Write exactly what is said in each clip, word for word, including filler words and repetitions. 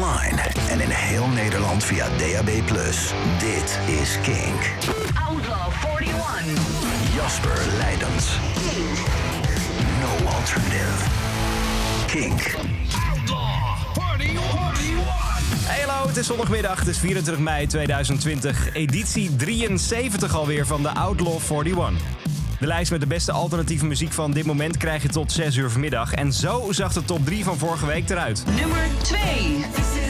online en in heel Nederland via D A B plus. Dit is Kink. Outlaw eenenveertig. Jasper Leidens. No alternative. Kink. Outlaw eenenveertig. Hey hallo, het is zondagmiddag, het is vierentwintig mei tweeduizend twintig. Editie drieënzeventig alweer van de Outlaw eenenveertig. De lijst met de beste alternatieve muziek van dit moment krijg je tot zes uur vanmiddag. En zo zag de top drie van vorige week eruit. Nummer twee.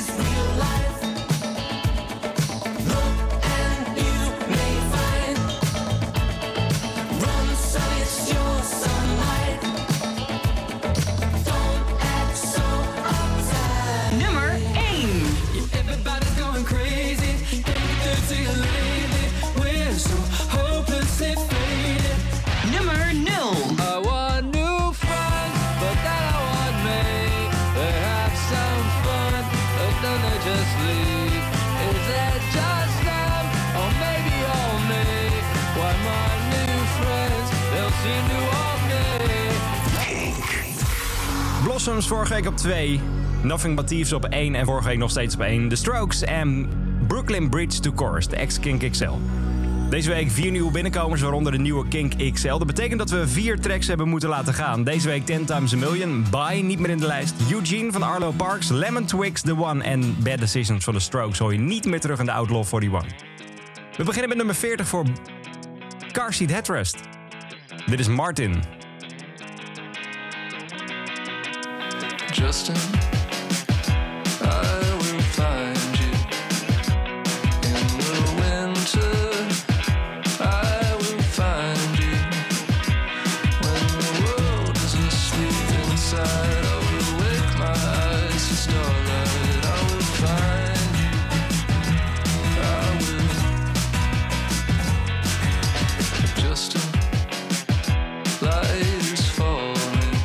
Blossoms vorige week op twee. Nothing But Thieves op één en vorige week nog steeds op één. The Strokes en Brooklyn Bridge to Chorus, de ex-Kink X L. Deze week vier nieuwe binnenkomers, waaronder de nieuwe Kink X L. Dat betekent dat we vier tracks hebben moeten laten gaan. Deze week ten times a million, Bye niet meer in de lijst. Eugene van Arlo Parks, Lemon Twigs, The One en Bad Decisions van The Strokes hoor je niet meer terug in de Outlaw eenenveertig. We beginnen met nummer veertig voor Car Seat Headrest. Dit is Martin. Justin, I will find you in the winter. I will find you when the world is asleep inside. I will wake my eyes to starlight. I will find you. I will. Justin, light is falling.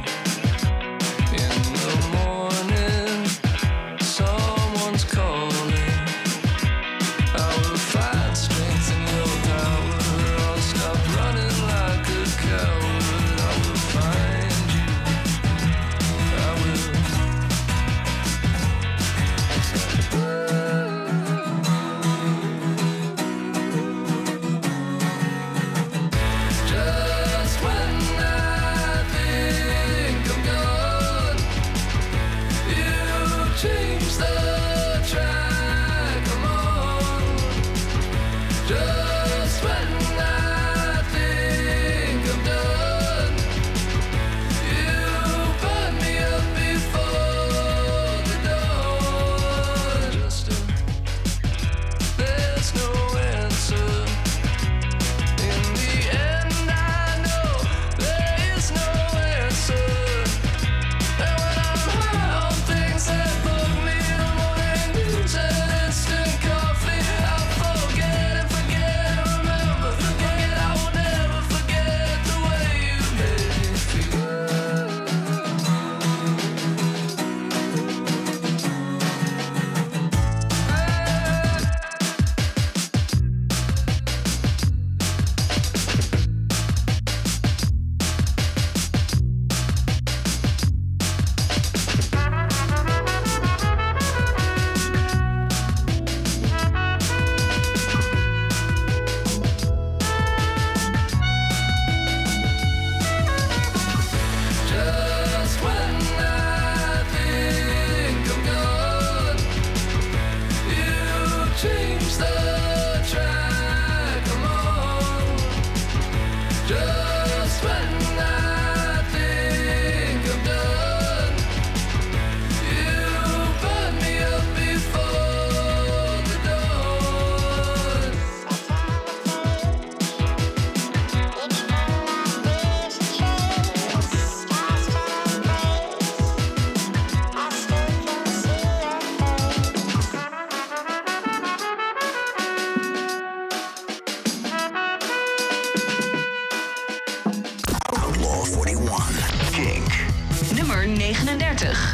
negenendertig.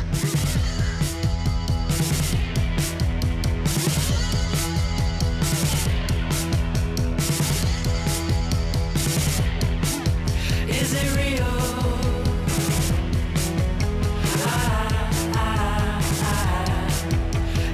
Is it real? Ah, ah, ah.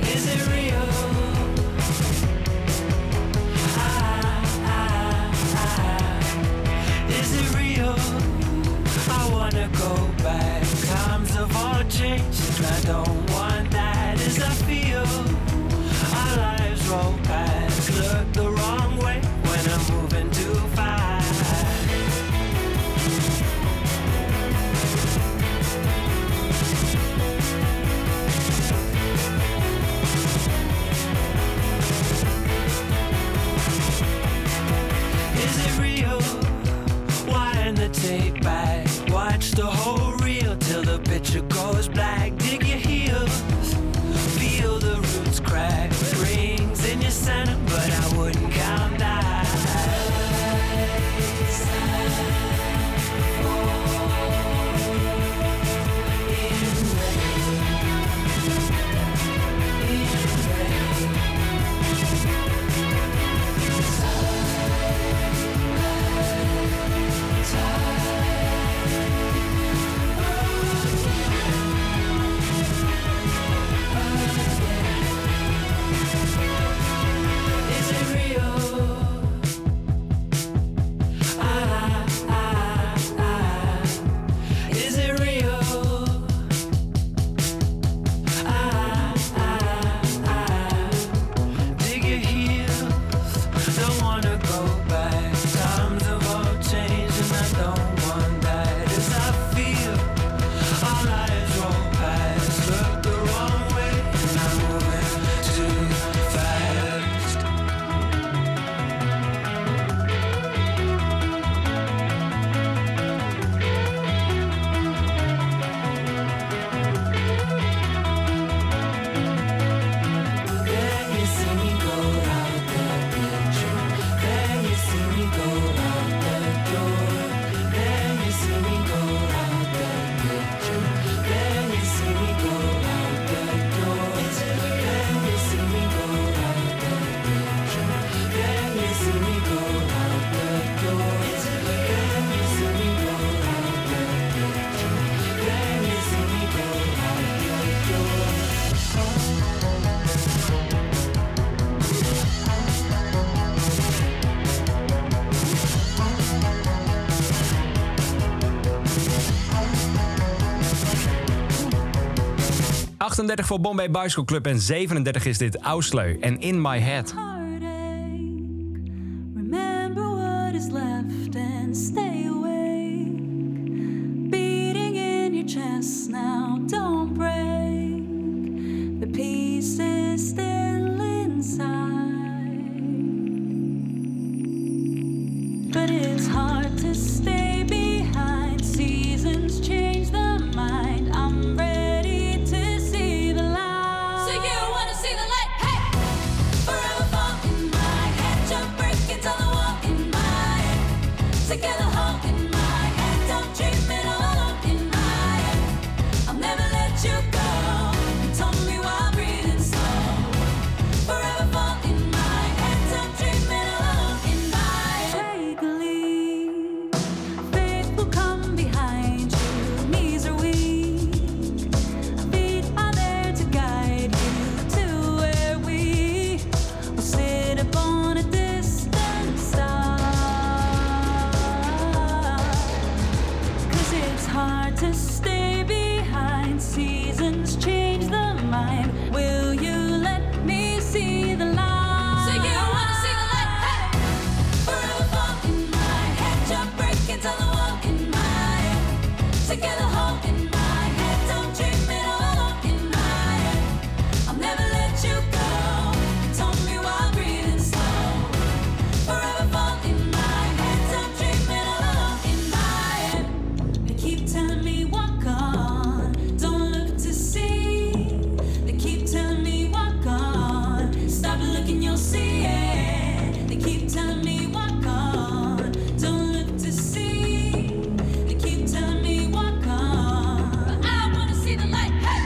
achtendertig voor Bombay Bicycle Club en zevenendertig is dit Ausleu en In My Head. Remember what is left and stay awake. Beating in your chest now, don't break. The peace is still inside. But it's hard to stay behind. Seasons change the mind. I'm ready to see the light. So you wanna see the light? Hey! Forever fall in my head. Jump, break it on the wall in my head. Together home in my head. Don't dream it all alone in my head. I'll never let you go. You told me while breathing slow. Forever fall in my head. Don't dream it all alone in my head. Take a leap. Faith will come behind you. Knees are weak. Feet are there to guide you to where we will sit upon a distant star. 'Cause it's hard to stay behind. Seasons change the mind. Will you let me see the light? So you wanna see the light? Hey! Forever fall in my head. Jump, break it on the wall in my head. Together home in my head. Don't dream it all alone in my head. I'll never let you go. You told me while breathing slow. Forever fall in my head. Don't dream it all alone in my head. They keep telling me walk on. Don't look to see. They keep telling me walk on. Stop looking, you'll see it. They keep telling me walk on. Don't look to see. They keep telling me walk on. But I wanna see the light. Hey!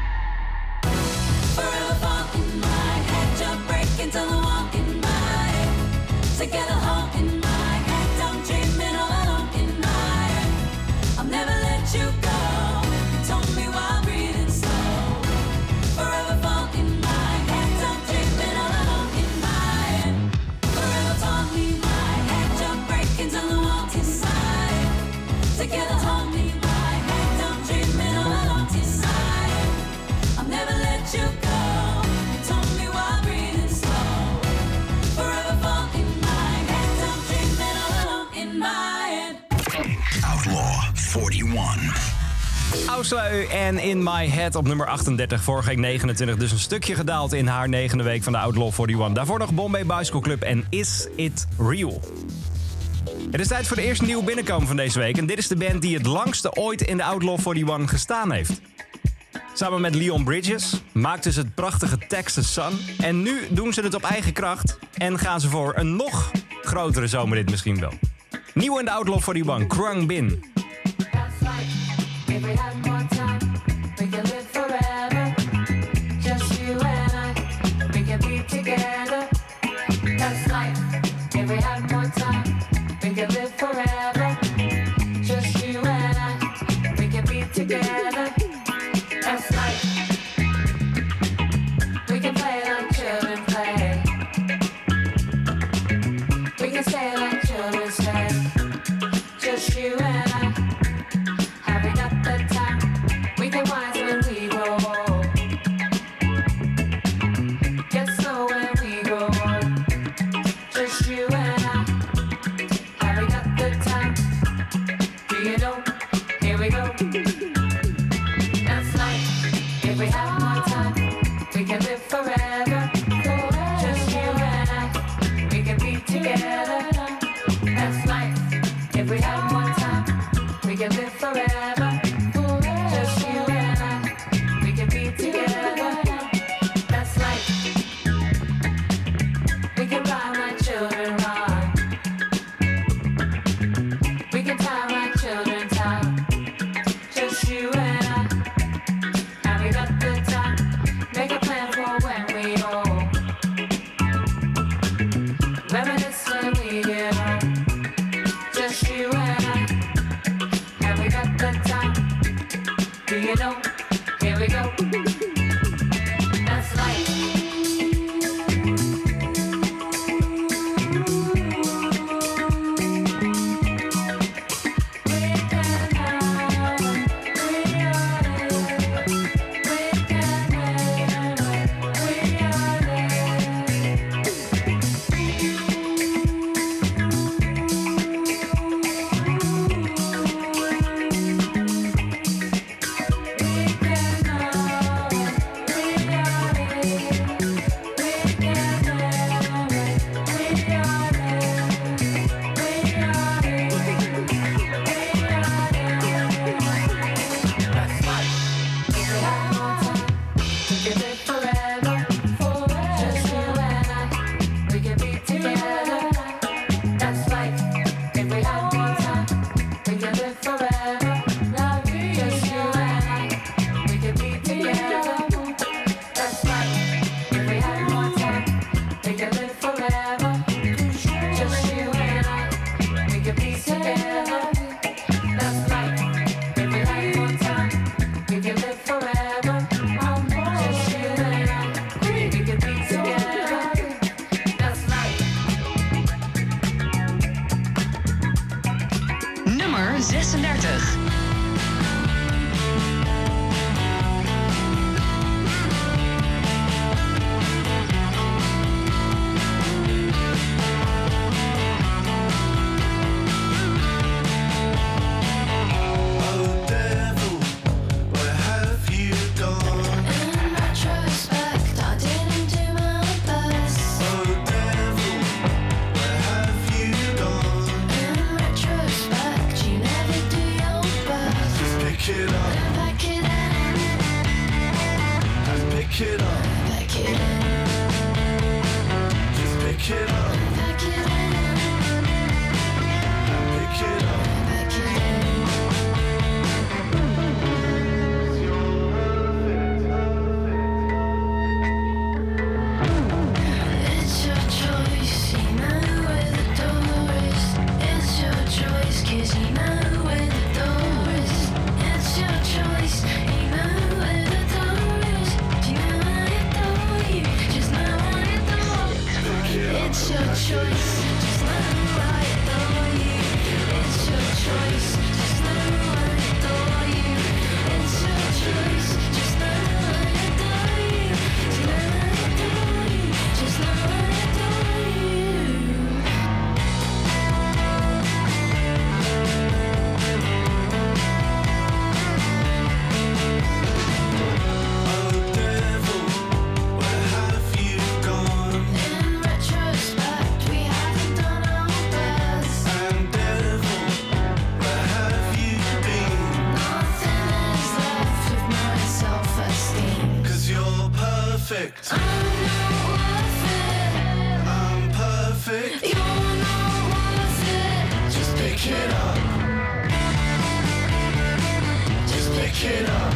Forever fall in my head. Jump, break it on the wall in my head. Together home in my head. Don't dream it all alone in my head. I'll never let you go. You told me while breathing slow. Forever fall in my head. Don't dream it all alone in my head. Forever fall in my head. Jump, break it on the wall inside. Together hold me my head. Don't dream it all alone inside. I'll never let you go. You told me while breathing slow. Forever fall in my head. Don't dream it all alone in my head. Outlaw eenenveertig. Ausleu en In My Head op nummer achtendertig, vorige week negenentwintig. Dus een stukje gedaald in haar negende week van de Outlaw eenenveertig. Daarvoor nog Bombay Bicycle Club en Is It Real. Het is tijd voor de eerste nieuwe binnenkomen van deze week. En dit is de band die het langste ooit in de Outlaw eenenveertig gestaan heeft. Samen met Leon Bridges maakten ze het prachtige Texas Sun. En nu doen ze het op eigen kracht. En gaan ze voor een nog grotere zomerrit misschien wel. Nieuw in de Outlaw eenenveertig, Krung Bin. That's like if we had more time, we could live forever. Just you and I, we could be together. That's life. If we had more time, we could live forever. Just you and I, we could be together. That's life. We can play like children play. We can stay like children stay. Just you and I, having up the time. pick it up. Back it in, Just pick it up. back it in, Pick it up. back it in. It's your choice, you know where the door is. It's your choice, 'cause you know where the door is. It's your choice, you know where the door is. You know I adore you, just know I adore you. It's your choice, just know I adore you. It's your choice, just know I adore you. It's your choice, just know I adore you. You know I adore you, just know I adore you. Oh devil, where have you gone? In retrospect, we haven't done our best. And devil, where have you been? Nothing is left with my self-esteem. 'Cause you're perfect. I'm not worth it. I'm perfect. You're not worth it. Just pick it up. Just pick it up.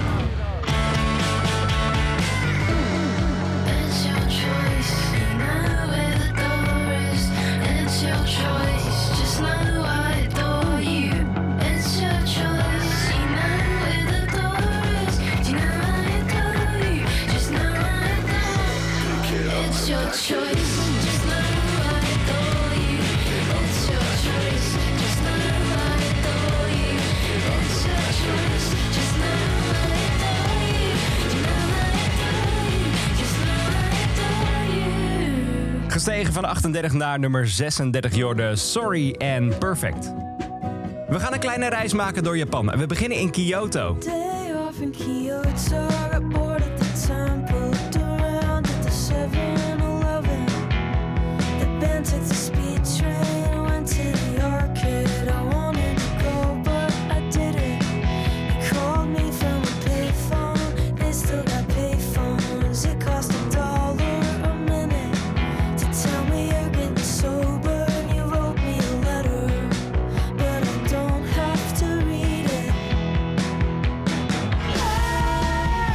It's your choice. You know where the door is. It's your choice. Just know I adore you. It's your choice. You know where the door is. You know I adore you. Just know I adore you. It's your choice. Just know I adore you. It's your choice. Just know I adore you. It's your choice. Just know I adore you. You know I adore you. Just know I adore you. Gestegen van achtendertig naar nummer zesendertig, Jorde, Sorry and Perfect. We gaan een kleine reis maken door Japan. En we beginnen in Kyoto. Day off in Kyoto, got bored at the temple, looked around at the seven eleven. The band took the speed train, went to the arcade. I wanted to go, but I didn't. They called me from a payphone, they still got payphones. It cost a dollar a minute to tell me you're getting sober. And you wrote me a letter, but I don't have to read it. I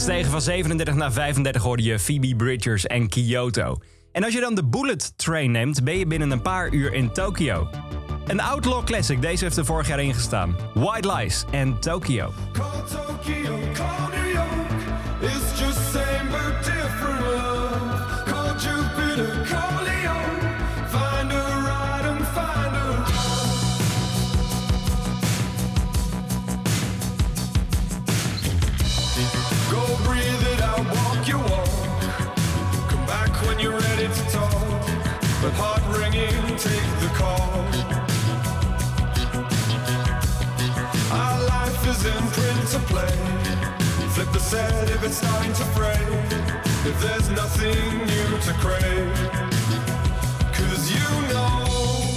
Gestegen van zevenendertig naar vijfendertig hoorde je Phoebe Bridgers en Kyoto. En als je dan de Bullet Train neemt, ben je binnen een paar uur in Tokio. Een Outlaw Classic, deze heeft er vorig jaar ingestaan. White Lies en Tokyo. Call Tokyo, call New York. It's just same but different love. Call Jupiter, call Leon. Find a ride and find a love. Go breathe it out, walk your walk. Come back when you're ready to talk. But heart ringing, take the call. Our life is in print to play. Flip the set if it's starting to fray. If there's nothing new to crave. Cause you know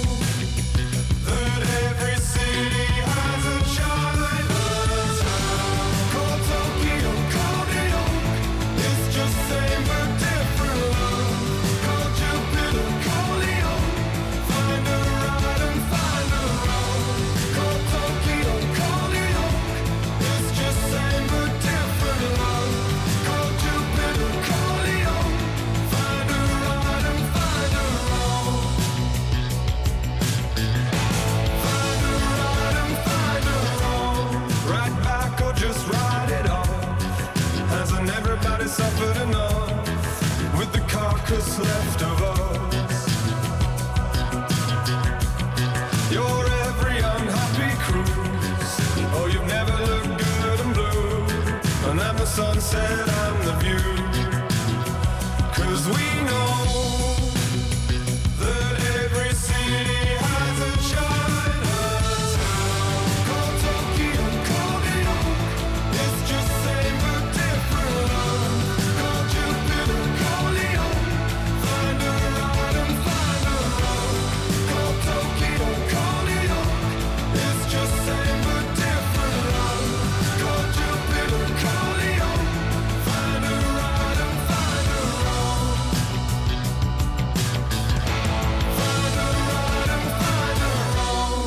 that every city has a Chinatown. Call Tokyo, call New York. It's just same but different love. Call Jupiter, call Leon. Find a ride and find a road. Call Tokyo, call New York. It's just same but different love. Call Jupiter, call Leon. Find a ride and find a road. Find a ride and find a road. Right back or just ride it off. Hasn't everybody suffered enough with the carcass left of us? You're every unhappy cruise. Oh, you've never looked good and blue. And I'm the sunset, I'm the view. Cause we know that every city has a Chinatown. Call Tokyo, call New York. It's just same but different love. Call Jupiter, call Leon. Find a ride and find a road. Call Tokyo, call New York. It's just same but different love. Call Jupiter, call Leon. Find a ride and find a road. Find a ride and find a road.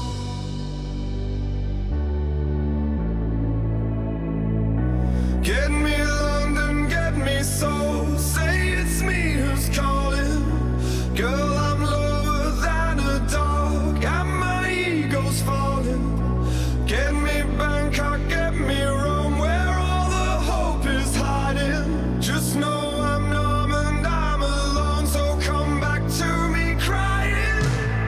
Get me London, get me soul. Say it's me who's calling. Girl, I'm lower than a dog, and my ego's falling. Get me Bangkok, get me Rome, where all the hope is hiding. Just know I'm numb and I'm alone, so come back to me crying.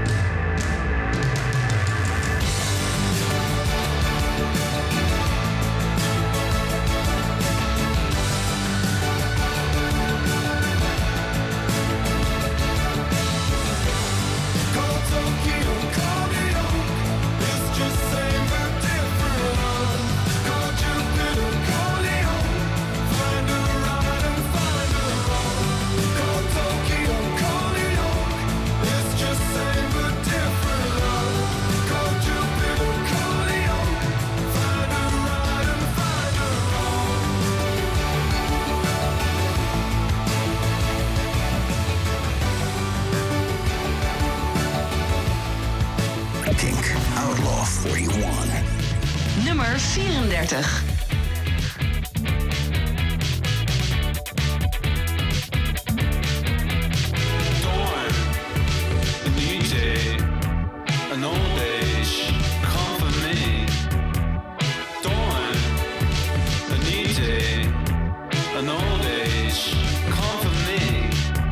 Call Tokyo, call New York. It's just same but different love. Call Jupiter, call Leon. Find a ride and find a road. Call Tokyo, call New York. It's just same but different love. Call Jupiter, call Leon. Find a ride and find a road. Kink Outlaw eenenveertig. Nummer vierendertig. Dawn, a new day, an old age, come for me. Dawn, a new day, an old age, come for me.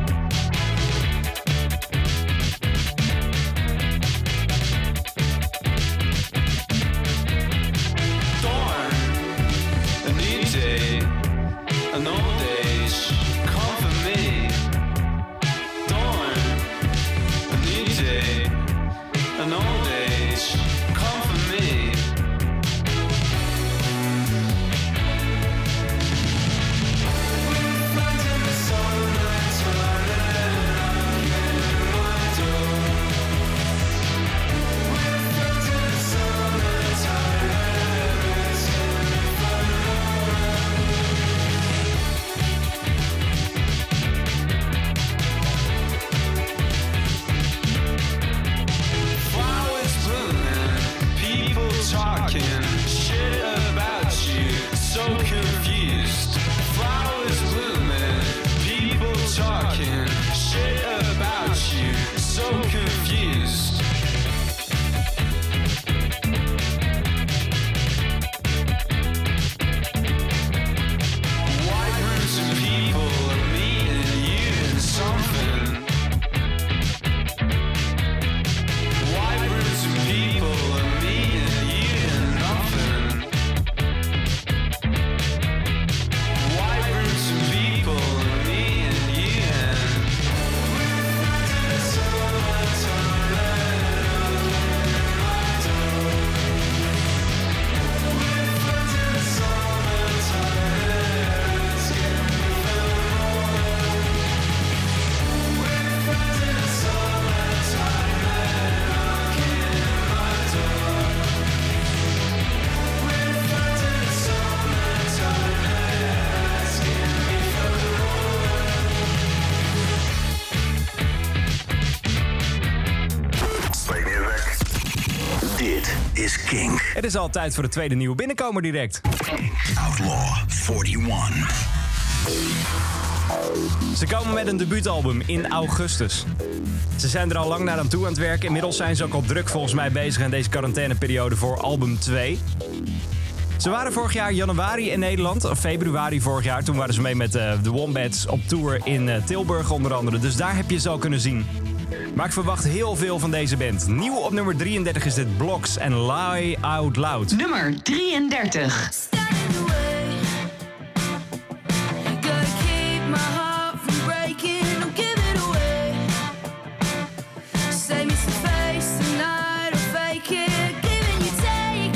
Dawn, a new day, an old age, come for me. Dawn, a new day, an old age, come for me. confused. Flowers blooming, people talking shit about you. So confused. White rooms and people are meeting you in something. White rooms and people are meeting you in nothing. White rooms and people are meeting you in. Dit is Kink. Het is al tijd voor de tweede nieuwe binnenkomer direct. Outlaw eenenveertig. Ze komen met een debuutalbum in augustus. Ze zijn er al lang naar aan toe aan het werken. Inmiddels zijn ze ook al druk volgens mij bezig in deze quarantaineperiode voor album twee. Ze waren vorig jaar januari in Nederland, of februari vorig jaar. Toen waren ze mee met uh, de Wombats op tour in uh, Tilburg onder andere. Dus daar heb je ze al kunnen zien. Maar ik verwacht heel veel van deze band. Nieuw op nummer drieëndertig is dit Blocks en Lie Out Loud. Nummer drieëndertig. Stand in the way. Gotta keep my heart from breaking. Don't give it away. Save me some face tonight or fake it. Give and you take.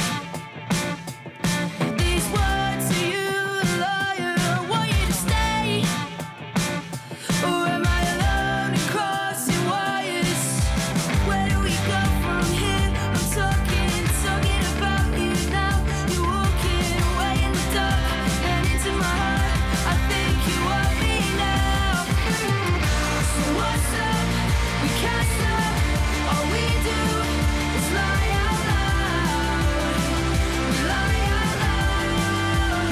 These words to you, a liar. I want you to stay. Or am I alone and crossing wires? Where do we go from here? I'm talking, talking about you now. You're walking away in the dark and into my heart. I think you want me now. So what's up? We can't stop. All we do is lie out loud. We lie out loud.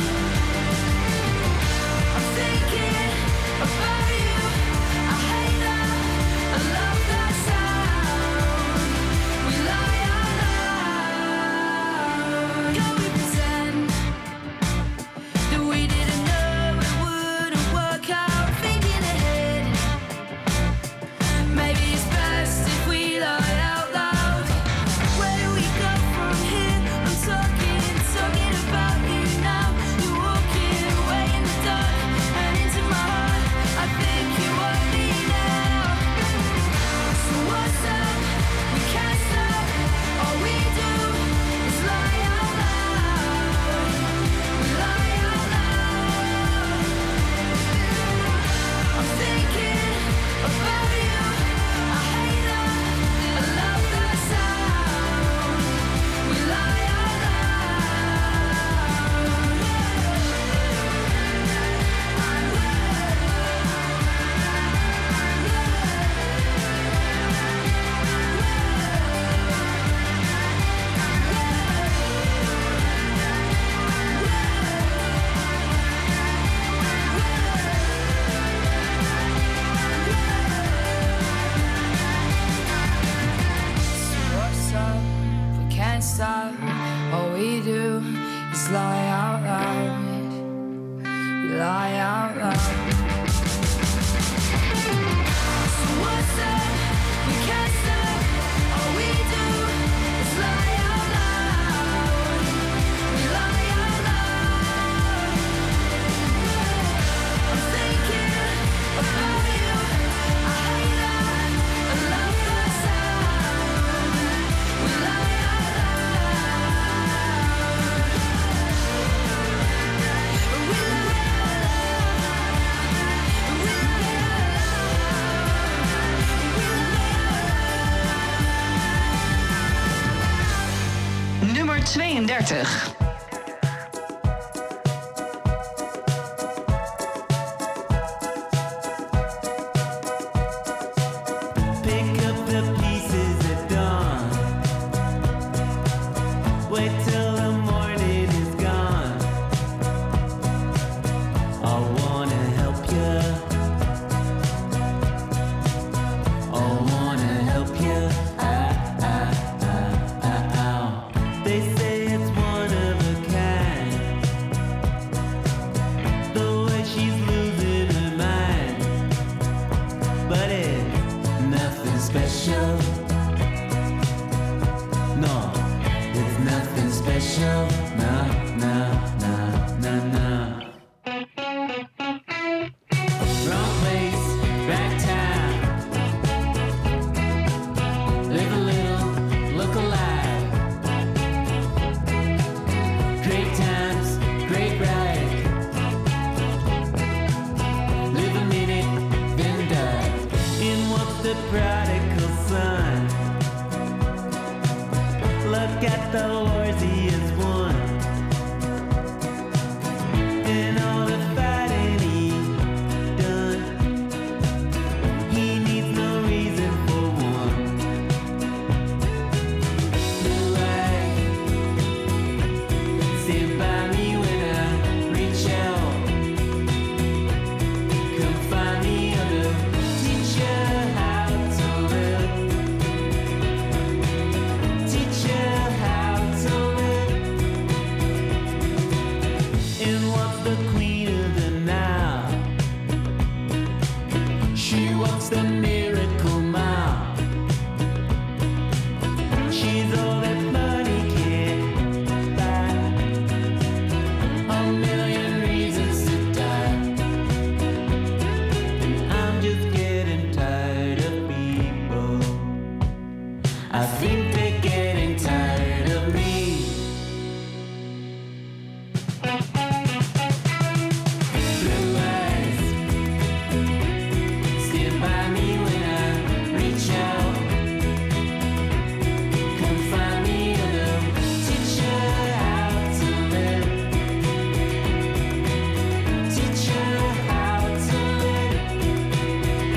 I'm thinking about you. I hate that. I love that sound. We lie out loud. Can we pretend that we didn't know it wouldn't work out? Thinking ahead. Maybe it's best if we lie out loud. Where do we go from here? I'm talking, talking about you now. You're walking away in the dark and into my heart. I think you want me now. So what's up? We can't stop. All we do is lie out loud. We lie out loud. I'm thinking about you. I hate that. I love that sound. We lie out What's up? We can't stop. All we do is lie out loud. We lie out loud. So what's up? We can't stop. All we do is lie out loud. We lie out loud. I'm thinking about you. I hate that. I love that sound. We lie out loud. We lie out loud. We lie out loud. Nummer tweeëndertig. Pick up the pieces at dawn. Wait till the morning is gone. the queen of the now. She walks the miracle mile. She's all that money can't buy. A million reasons to die. I'm just getting tired of people. I think they're getting tired of me. Blue eyes stand by me when I reach out. Come find me and I'll teach you how to live. Teach you how to live.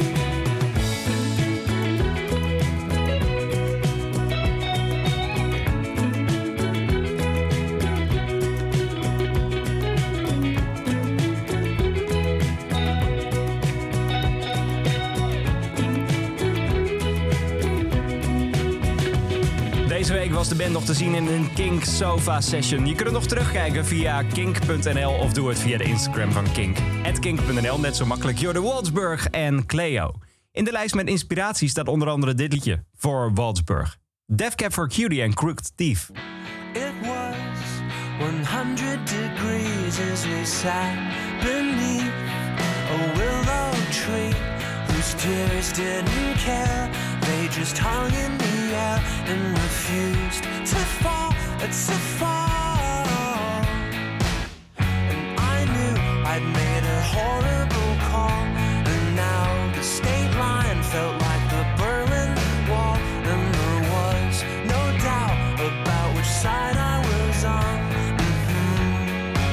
Deze week was de band nog te zien in een Kink Sofa Session. Je kunt het nog terugkijken via kink punt n l of doe het via de Instagram van Kink. at kink punt n l, net zo makkelijk. Jorde Waldsburg en Cleo. In de lijst met inspiratie staat onder andere dit liedje voor Waldsburg. Death Cab for Cutie en Crooked Thief. It was one hundred degrees as we sat beneath a willow tree whose tears didn't care. They just hung in the air and refused to fall, to fall. And I knew I'd made a horrible call, and now the state line felt like the Berlin Wall, and there was no doubt about which side I was on. Mhm.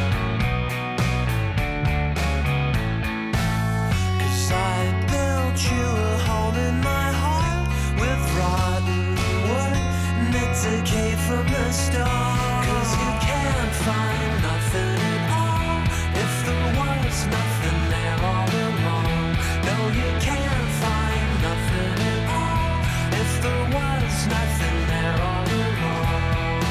'Cause I built you a home in my heart with rotten wood, meant to decay from the start. 'Cause you can't find nothing at all if there was nothing there all along. No, you can't find nothing at all if there was nothing there all along.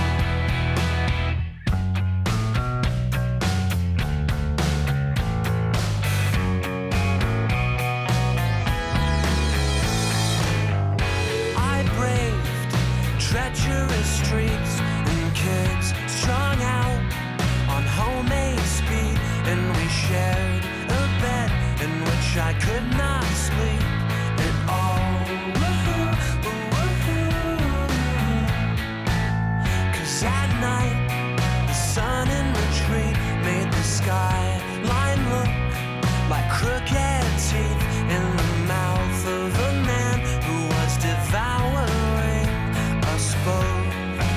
I braved treacherous streets and kids strung out on homemade speed, and we shared a bed in which I could not sleep at all. 'Cause at night the sun in retreat made the skyline look like crooked teeth in the mouth of a man who was devouring us both.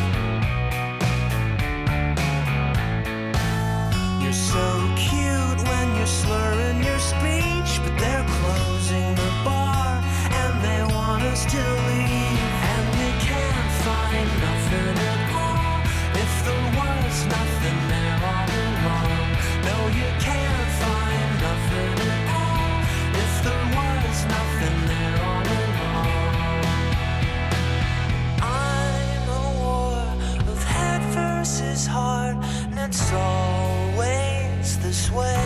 You're so cute when you're slurring your speech, but they're closing the bar and they want us to leave. And we can't find nothing at all if there was nothing there all along. No, you can't find nothing at all if there was nothing there all along. I'm a war of head versus heart, and it's always this way.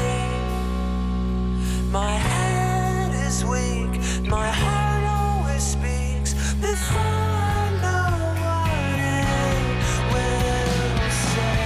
My head is weak, my heart always speaks before I know what it will say.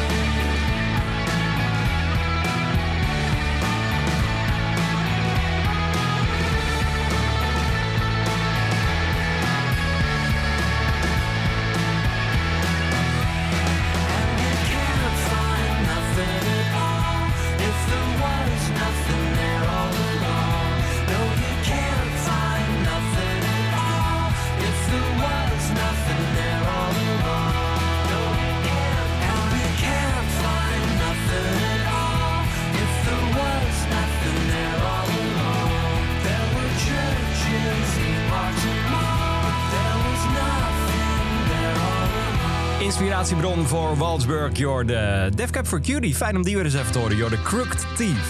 And you can't find nothing at all if there was nothing there all along. No, you can't find nothing at all if there was nothing there all along. No, you can't. And you can't find nothing at all if there was nothing there all along. There were churches and parks and malls, but there was nothing there all along. Inspiratiebron voor Waldsburg, Jorde. Death Cab for Cutie, fijn om die weer eens even te horen. Jorde Crooked Thief.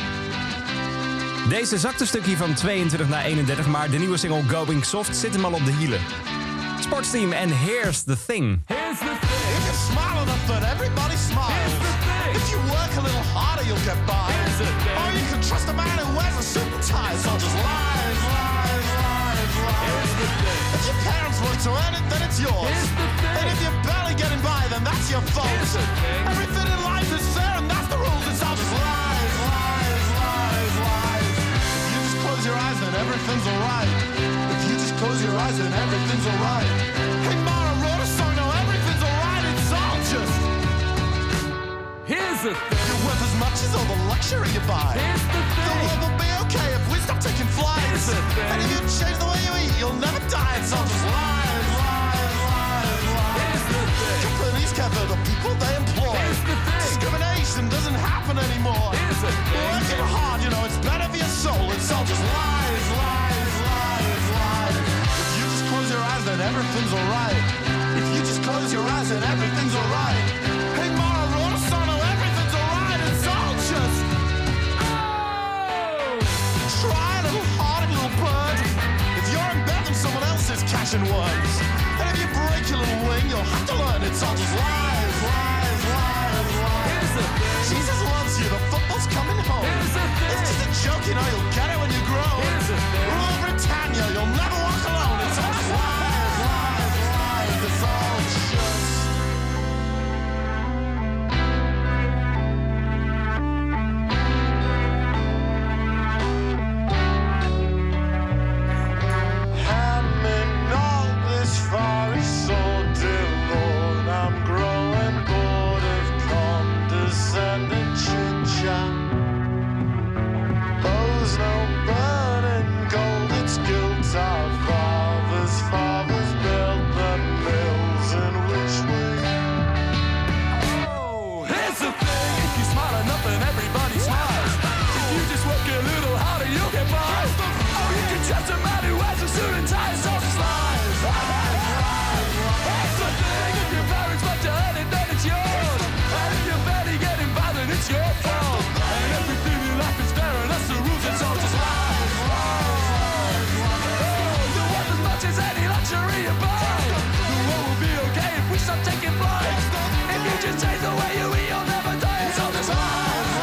Deze zakt een stukje van tweeëntwintig naar eenendertig, maar de nieuwe single Going Soft zit hem al op de hielen. Sportsteam en Here's the Thing. Here's the thing. If you smile enough that everybody smiles. Here's the thing. If you work a little harder, you'll get by. Or you can trust a man who wears a suit and tie. It's all just lies, lies, lies, lies. If your parents work to earn it, then it's yours. And if you're barely getting by, then that's your fault. Everything in life is fair, and that's the rules. It's all just lies, lies, lies, lies. If you just close your eyes, then everything's alright. If you just close your eyes, then everything's alright. Hey, Mara wrote a song, no, everything's alright. It's all just. Here's the thing. You're worth as much as all the luxury you buy. Here's the The thing. world will be okay if we stop taking flights. Here's the thing. And if you change the way you eat, you'll never die. It's all just lies, lies, lies, lies. Here's the thing. Companies cover the people they employ. Here's the thing. Discrimination doesn't happen anymore. Here's the thing. Working hard, you know, it's better for your soul. It's all just lies, lies, lies, lies. If you just close your eyes, then everything's alright. If you just close your eyes, then everything's alright. Hey, Mara wrote a song, no, everything's alright. It's all just. Try a little harder, little bird. If you're in bed, then someone else is cashing words. And if you break your little wing, you'll have to learn it's all just lies, lies, lies, lies. Here's the thing. Jesus loves you, the football's coming home. Here's the thing. It's just a joke, you know, you'll get it when you grow. Here's the thing. Rule Britannia, you'll never walk alone. It's all just lies, lies, lies. It's all just. Having all this far is so dear, Lord. I'm growing bored of condescending chit-chat. Owes no burden gold, it's guilt our fathers, fathers built the mills in which we. Oh, here's the thing. If you smile enough, then everybody smiles. If you just work a little harder, you'll get by. Oh, you can trust a man who has a suit and tie. It's all just lies. Here's the thing. If your parents want to earn it, then it's yours. And if you're barely getting by, then it's your fault. And everything in life is fair, and that's the rules. It's all just lies. Oh, you're worth as much as any luxury you buy. The world will be okay if we stop taking flights. If you just change the way you eat, you'll never die. It's all just lies.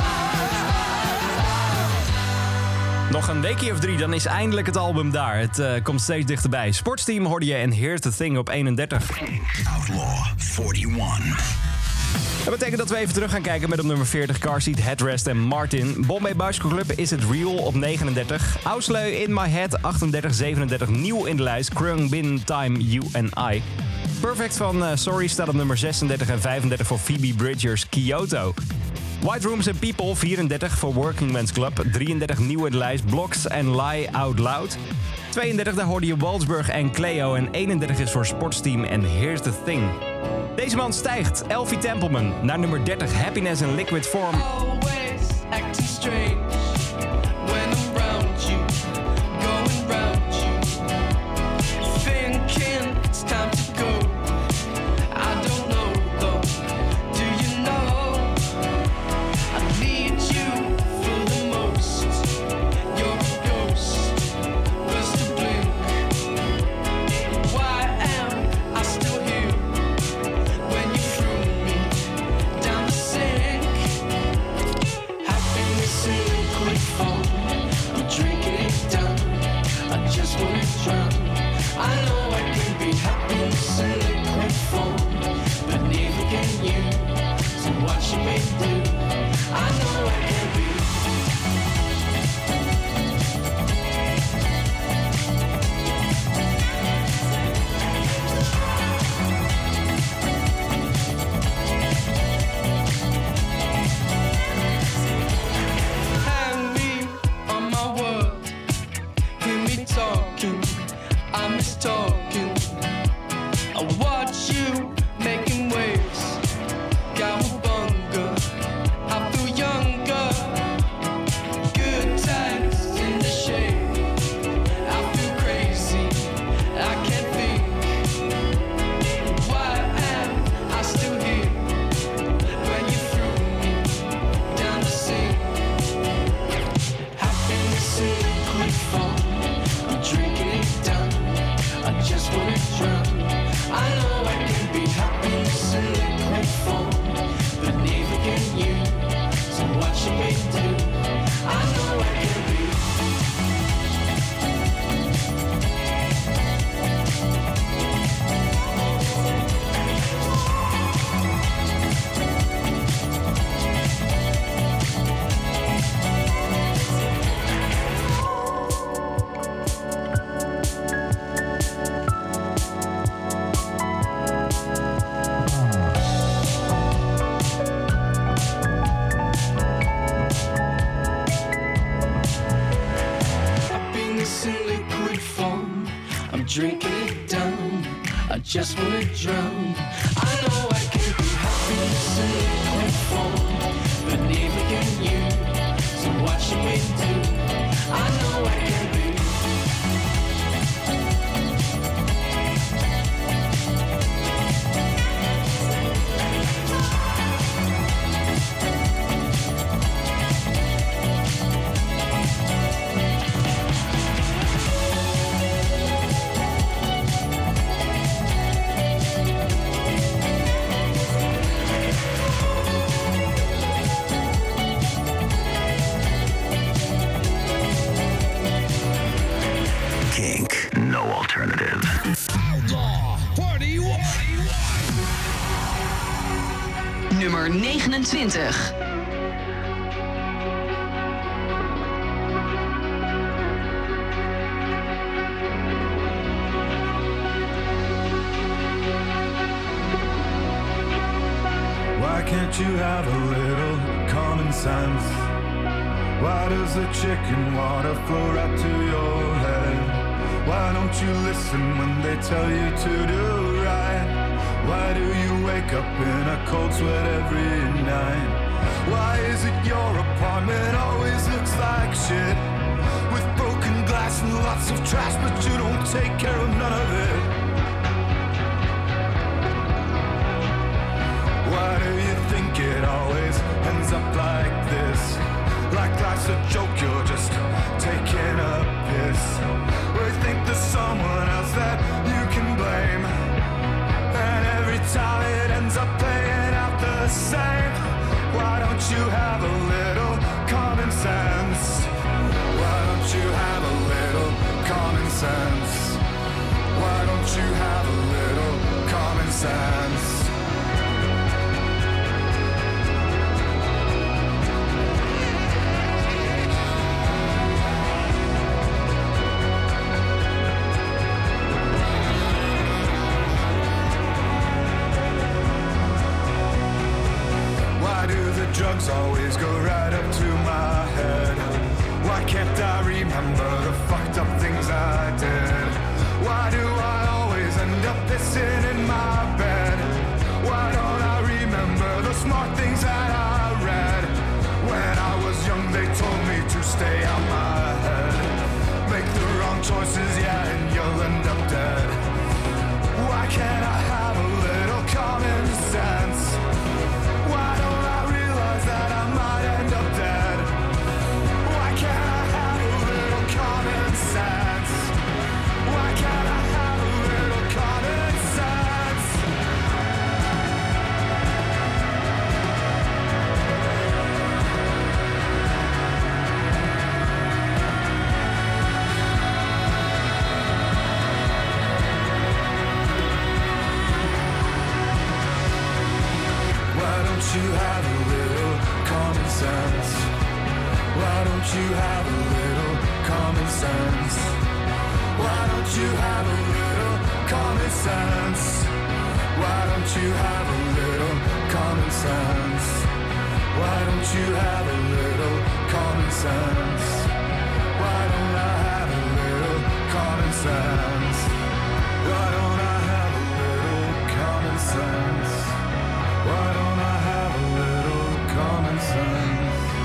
Nog een weekje of drie, dan is eindelijk het album daar. Het uh, komt steeds dichterbij. Sportsteam hoorde je en Here's the Thing op eenendertig. Outlaw eenenveertig. Dat betekent dat we even terug gaan kijken met op nummer veertig Car Seat, Headrest en Martin. Bombay Bicycle Club Is It Real op negenendertig. Ausleu In My Head achtendertig, zevenendertig. Nieuw in de lijst Krung Bin Time You and I. Perfect van uh, Sorry staat op nummer zesendertig en vijfendertig voor Phoebe Bridgers Kyoto. White Rooms and People vierendertig voor Working Men's Club. drieëndertig nieuw in de lijst Blocks and Lie Out Loud. tweeëndertig daar hoorde je Waldsburg en Cleo. En eenendertig is voor Sportsteam en Here's the Thing. Deze man stijgt. Elfie Templeman naar nummer dertig. Happiness in Liquid Form. Always acting strange when I'm around you, going round you, thinking it's time to go. I don't know though, do you know? I need you for the most. You're a ghost, first to blink. Why am I still here when you threw me down the sink? Happiness in drinking it down. I just wanna drown. I know I can be happiness in liquid form, but neither can you. So what should we do? I know I can be. Kink, no alternative. Outlaw Party One. Nummer negenentwintig. Why can't you have a little common sense? Why does the chicken water flow right to your head? Why don't you listen when they tell you to do right? Why do you wake up in a cold sweat every night? Why is it your apartment always looks like shit? With broken glass and lots of trash, but you don't take care of none of it. Why do you think it always ends up like this? Like life's a joke, you're just taking a piss. Or you think there's someone else that you can blame, and every time it ends up playing out the same. Why don't you have a little common sense? Why don't you have a little common sense? Why don't you have a little common sense? Drugs always go right up to my head. Why can't I remember the fucked up things I did? Why do I always end up pissing in my bed? Why don't I remember the smart things that I read? When I was young they told me to stay out my head. Make the wrong choices, yeah, and you'll end up dead. Why can't I have a little common sense? Why don't I realize that I might end up dead? Why can't I have a little common sense? Why can't I have a little common sense? Why don't you have a little common sense? Why don't you have a little common sense? Why don't you have a little common sense? Why don't you have a little common sense? Why don't you have a little common sense? Why don't I have a little common sense? Why don't I have a little common sense? Why don't I have a little common sense?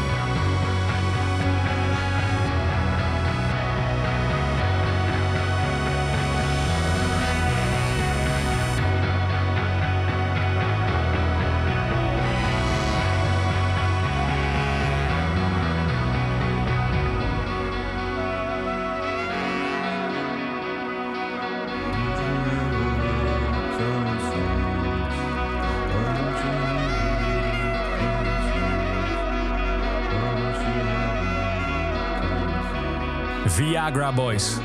Viagra Boys.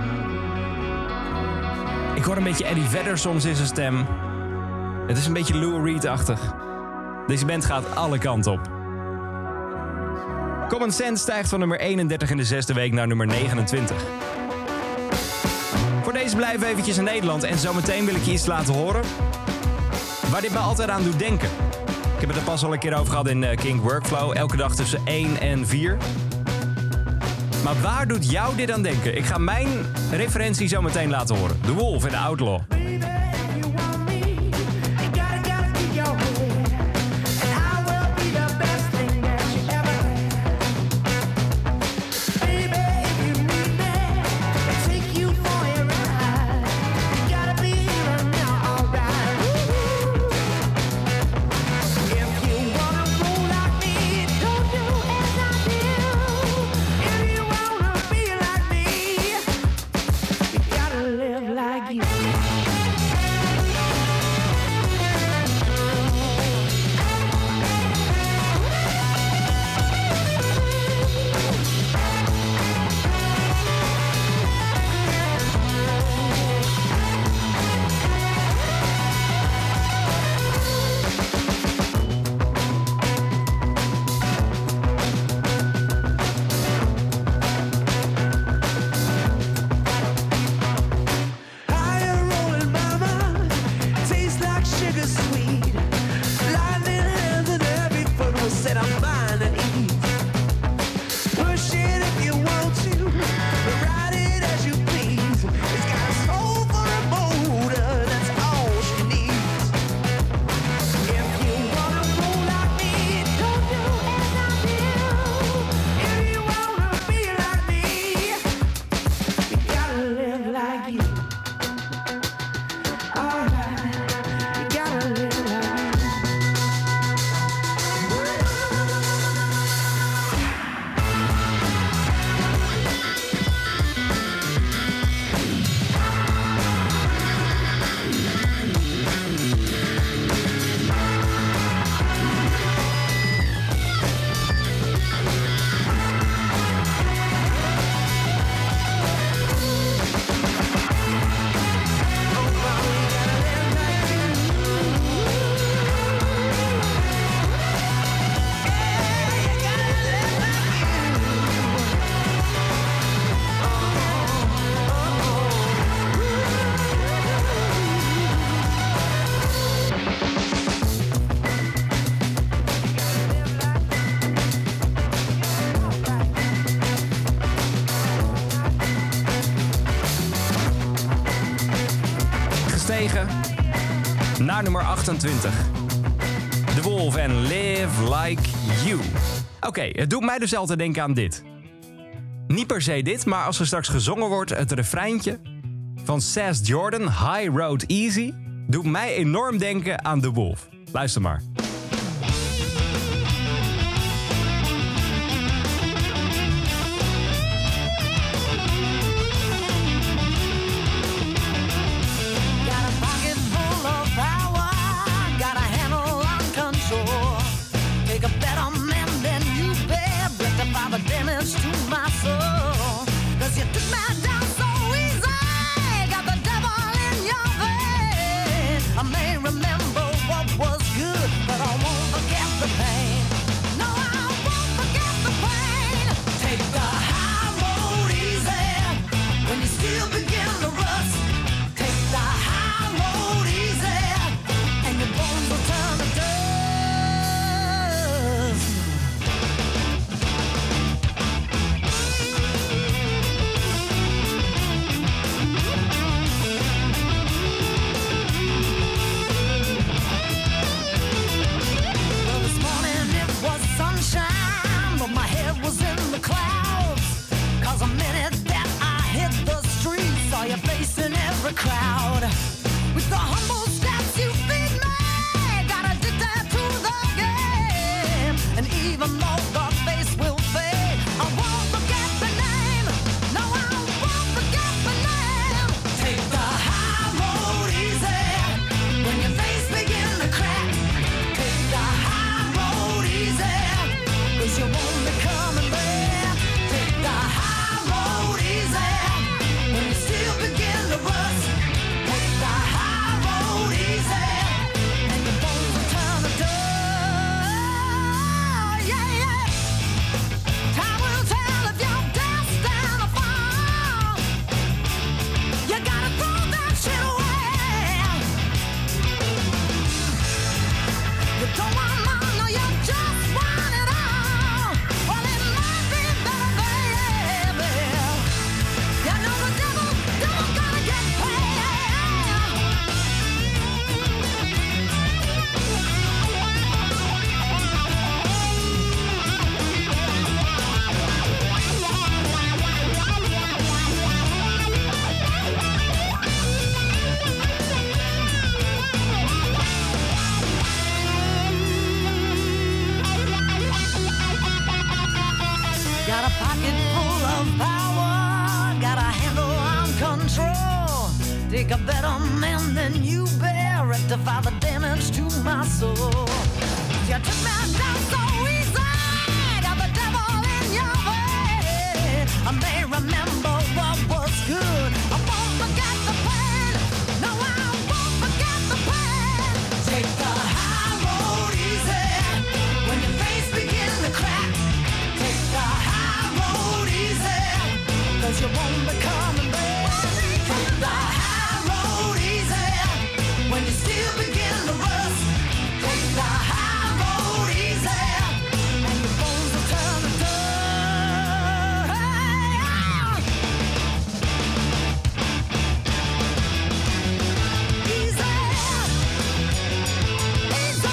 Ik hoor een beetje Eddie Vedder soms in zijn stem. Het is een beetje Lou Reed-achtig. Deze band gaat alle kanten op. Common Sense stijgt van nummer eenendertig in de zesde week naar nummer negenentwintig. Voor deze blijven we eventjes in Nederland en zometeen wil ik je iets laten horen waar dit me altijd aan doet denken. Ik heb het er pas al een keer over gehad in uh, Kink Workflow. Elke dag tussen één en vier. Maar waar doet jou dit aan denken? Ik ga mijn referentie zo meteen laten horen. The Wolf en The Outlaw. Naar nummer achtentwintig. The Wolf en Live Like You. Oké, okay, het doet mij dus altijd denken aan dit. Niet per se dit, maar als er straks gezongen wordt... het refreintje van Sass Jordan, High Road Easy... doet mij enorm denken aan The Wolf. Luister maar. I may remember what was good, but Got a pocket full of power, got a handle on control. Take a better man than you bear, rectify the damage to my soul. You took me down so easy, got the devil in your way. I may remember what was good, I won't forget the pain. No, I won't forget the pain. Take the high road easy, when your face begins to crack. Take the high road easy, cause you won't be coming back. Take the high road easy, when you still begin to rust. Take the high road easy, and your bones will turn to dust. Easy, easy,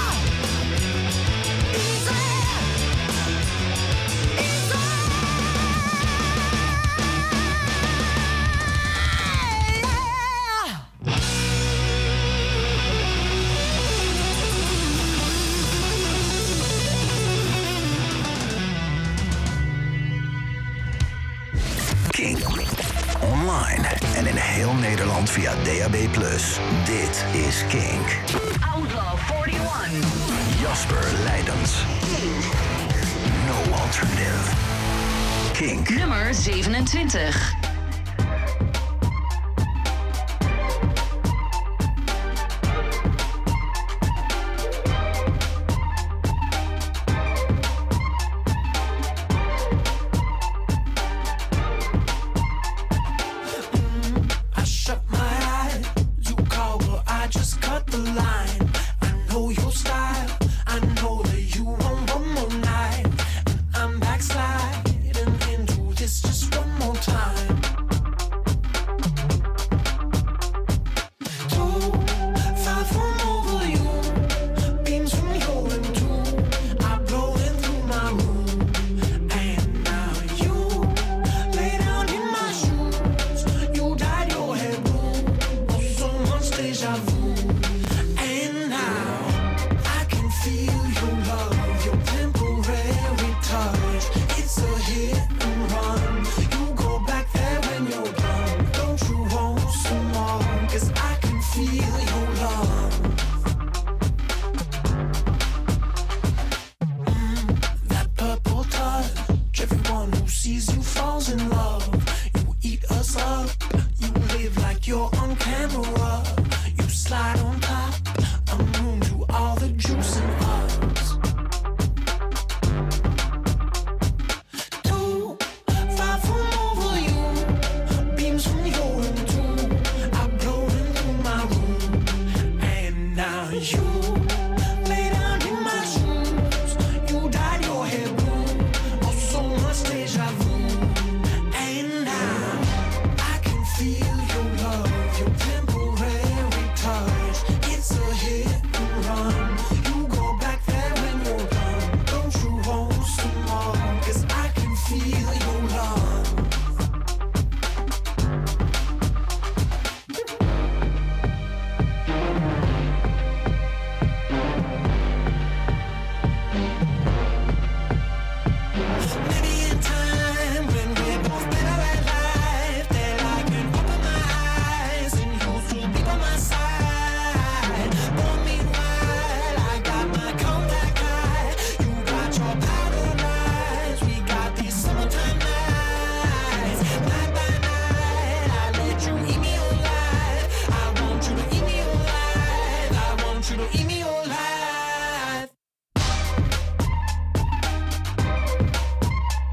Kink. Online en in heel Nederland via D A B plus. Dit is Kink. Outlaw eenenveertig. Jasper Leidens. No alternative. Kink. Nummer zevenentwintig. I shut my eyes, you call, but I just cut the line. I know your style, I know that you want one more night. And I'm backsliding into this just one more time. Two, five from over you, beams from your and two. I blow in through my room, and now you lay down in my shoes. You dyed your hair blue, oh so much deja vu. And now I can feel your love, your temporary touch. It's a hit and run. You go back there when you're done. Don't you want some more? 'Cause I can feel your love. Mm, that purple touch, everyone who sees you falls in love. You eat us up, you live like you're on camera. You slide on top, immune to all the juice in us. Two, five from over you, beams from your and two. I blow into my room, and now you lay down in my shoes. You dyed your hair blue, oh so much deja vu. And now I can feel your love, your temporary touch. It's a hit and run. You go back there when you're done. Don't you want some more? 'Cause I can feel your love. Maybe in time when we're both better at life, that I can open my eyes and you'll still be by my side. But meanwhile, I got my contact high. You got your powder nights, we got these summertime nights. Night by night, I let you eat me alive. I want you to eat me alive. I want you to eat me alive.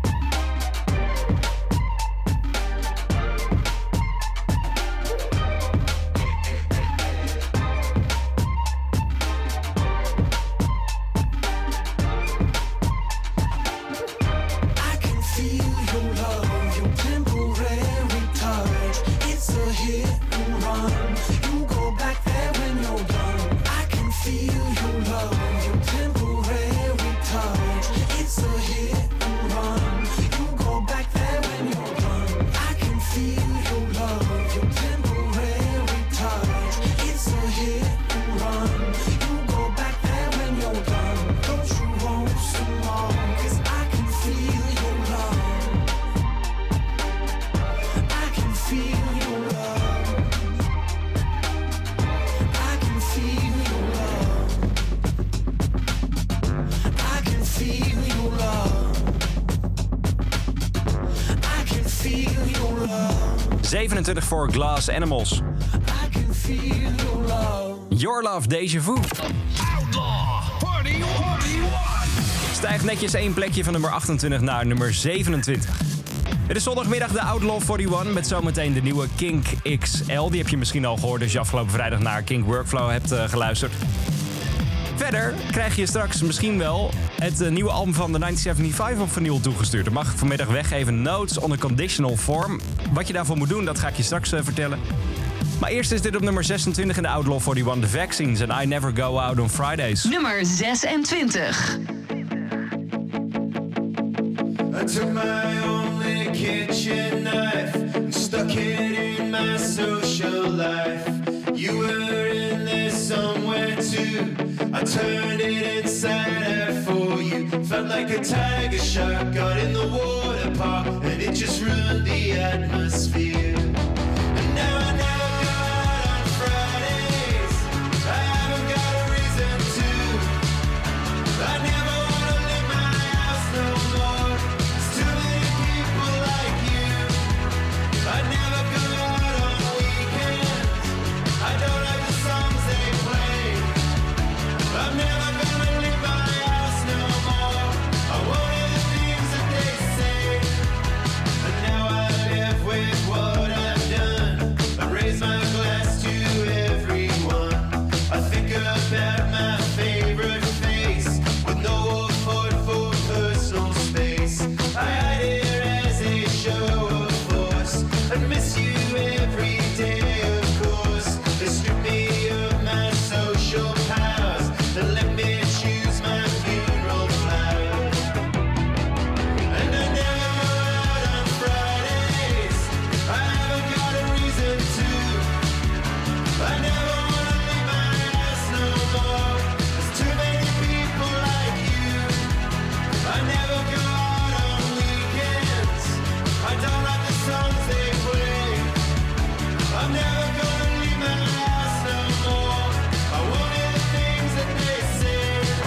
zevenentwintig voor Glass Animals. Your Love, Deja Vu. Outlaw forty-one. Stijgt netjes één plekje van nummer achtentwintig naar nummer zevenentwintig. Het is zondagmiddag de Outlaw eenenveertig met zometeen de nieuwe Kink X L. Die heb je misschien al gehoord als je afgelopen vrijdag naar Kink Workflow hebt uh, geluisterd. Verder krijg je straks misschien wel het uh, nieuwe album van de negentien zevenenzeventig op vinyl toegestuurd. Dat mag ik vanmiddag weggeven. Notes on a Conditional Form. Wat je daarvoor moet doen, dat ga ik je straks uh, vertellen. Maar eerst is dit op nummer zesentwintig in de Outlaw eenenveertig, The Vaccines en I Never Go Out on Fridays. Nummer zesentwintig. I took my only kitchen knife and stuck it in my social life. You were in there somewhere too. I turned it inside out for you. Felt like a tiger shark got in the water park, and it just ruined the atmosphere. And now I never go out on Fridays. I haven't got a reason to. I never wanna leave my house no more. There's too many people like you. I never go out on weekends. I don't like the songs they play. I'm never gonna leave my house no more. I won't hear the things that they say. And now I live with what I've done. I raise my glass to everyone. I think about my favorite face with no afford for personal space. I hide here as a show of force and miss you every day, of course. They strip me of my social powers and let me choose my funeral flowers. And I never go out on Fridays. I haven't got a reason to. I never wanna leave my house no more. There's too many people like you. I never go out on weekends. I don't like the songs they play. I'm never gonna leave my house no more. I won't hear the things that they say.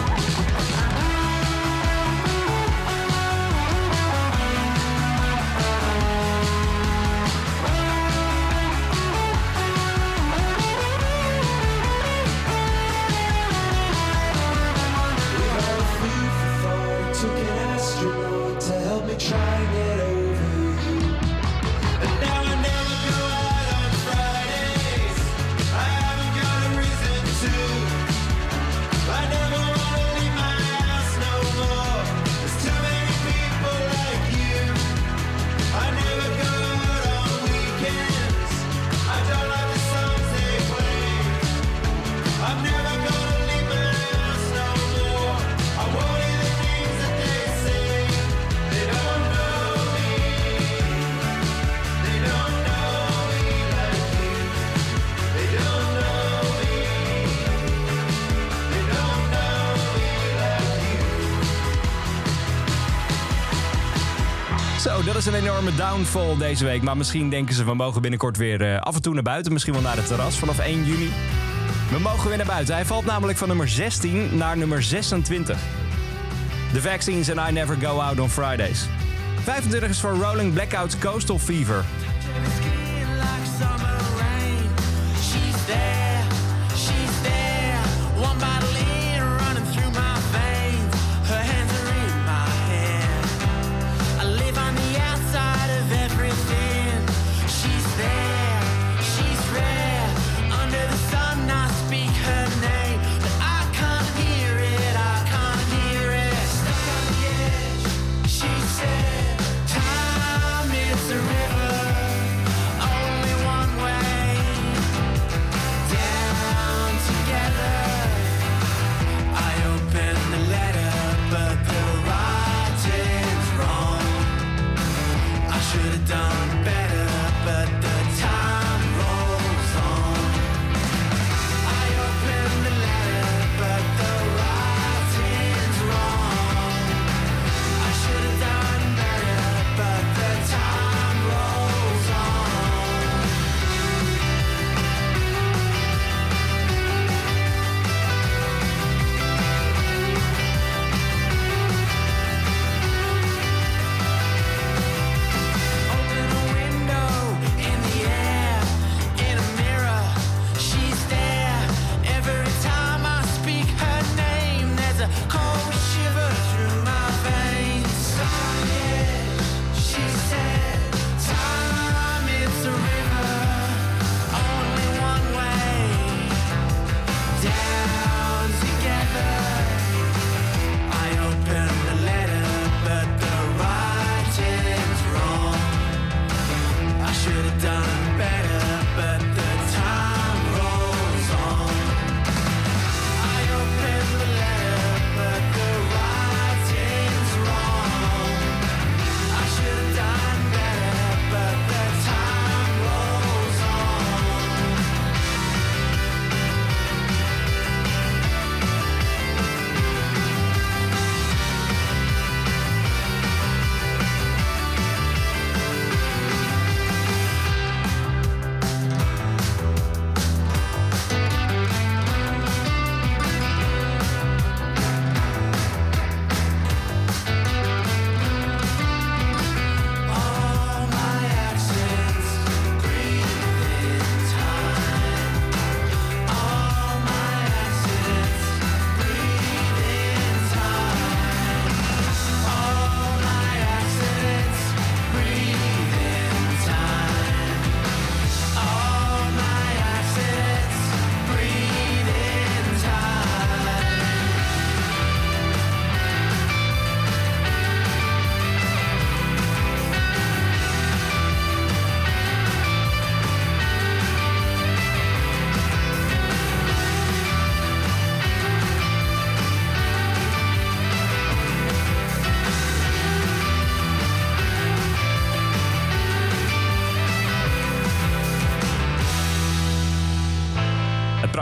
We got a food for thought. Took an astronaut to help me try and get over you. And now I never go out on Fridays. I haven't got a reason to. I never wanna leave my house no more. There's too many people like you. I never go out on weekends. I don't like the songs they play. I'm never gonna leave my house no more. I won't hear the things that they say. They don't know me. They don't know me like you. They don't know me. They don't know me like you. Zo, dat is een enorme downfall deze week. Maar misschien denken ze, we mogen binnenkort weer uh, af en toe naar buiten. Misschien wel naar het terras vanaf één juni. We mogen weer naar buiten. Hij valt namelijk van nummer zestien naar nummer zesentwintig. The Vaccines and I Never Go Out on Fridays. vijfentwintig is voor Rolling Blackouts Coastal Fever. Time is a river, only one way.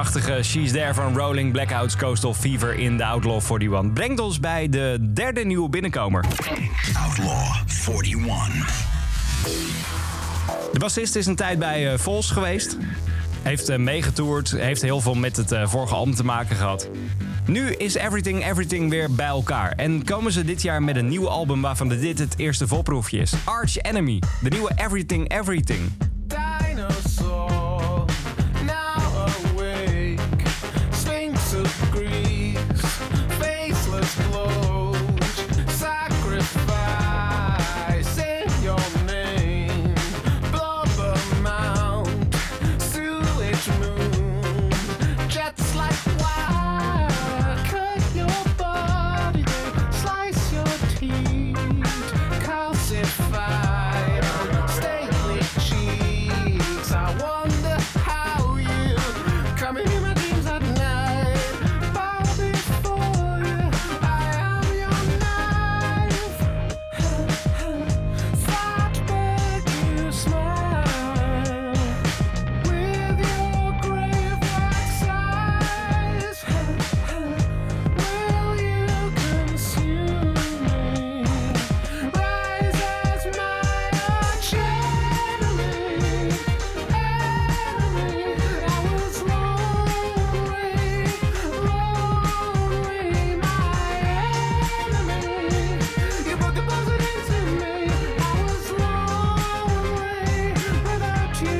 Prachtige She's There van Rolling Blackouts Coastal Fever in de Outlaw eenenveertig. Brengt ons bij de derde nieuwe binnenkomer. Outlaw eenenveertig. De bassist is een tijd bij uh, Vols geweest. Heeft uh, meegetoerd, heeft heel veel met het uh, vorige album te maken gehad. Nu is Everything Everything weer bij elkaar. En komen ze dit jaar met een nieuw album waarvan dit het eerste volproefje is. Arch Enemy, de nieuwe Everything Everything. Dinosaur, now awake. Sphinx of Greece, faceless glows. Sacrifice in your name. Blubber mount, sewage moon. Jets like wire, cut your body, they slice your teeth. Calcified, stately cheeks. I wonder how you come in my dreams at night. Bow before you, I am your knife. Fatberg, you smile with your grave wax eyes. Will you consume me? Rise as my arch enemy, enemy. I was lonely, lonely, my enemy. You put the buzzard into me. I was lonely without you.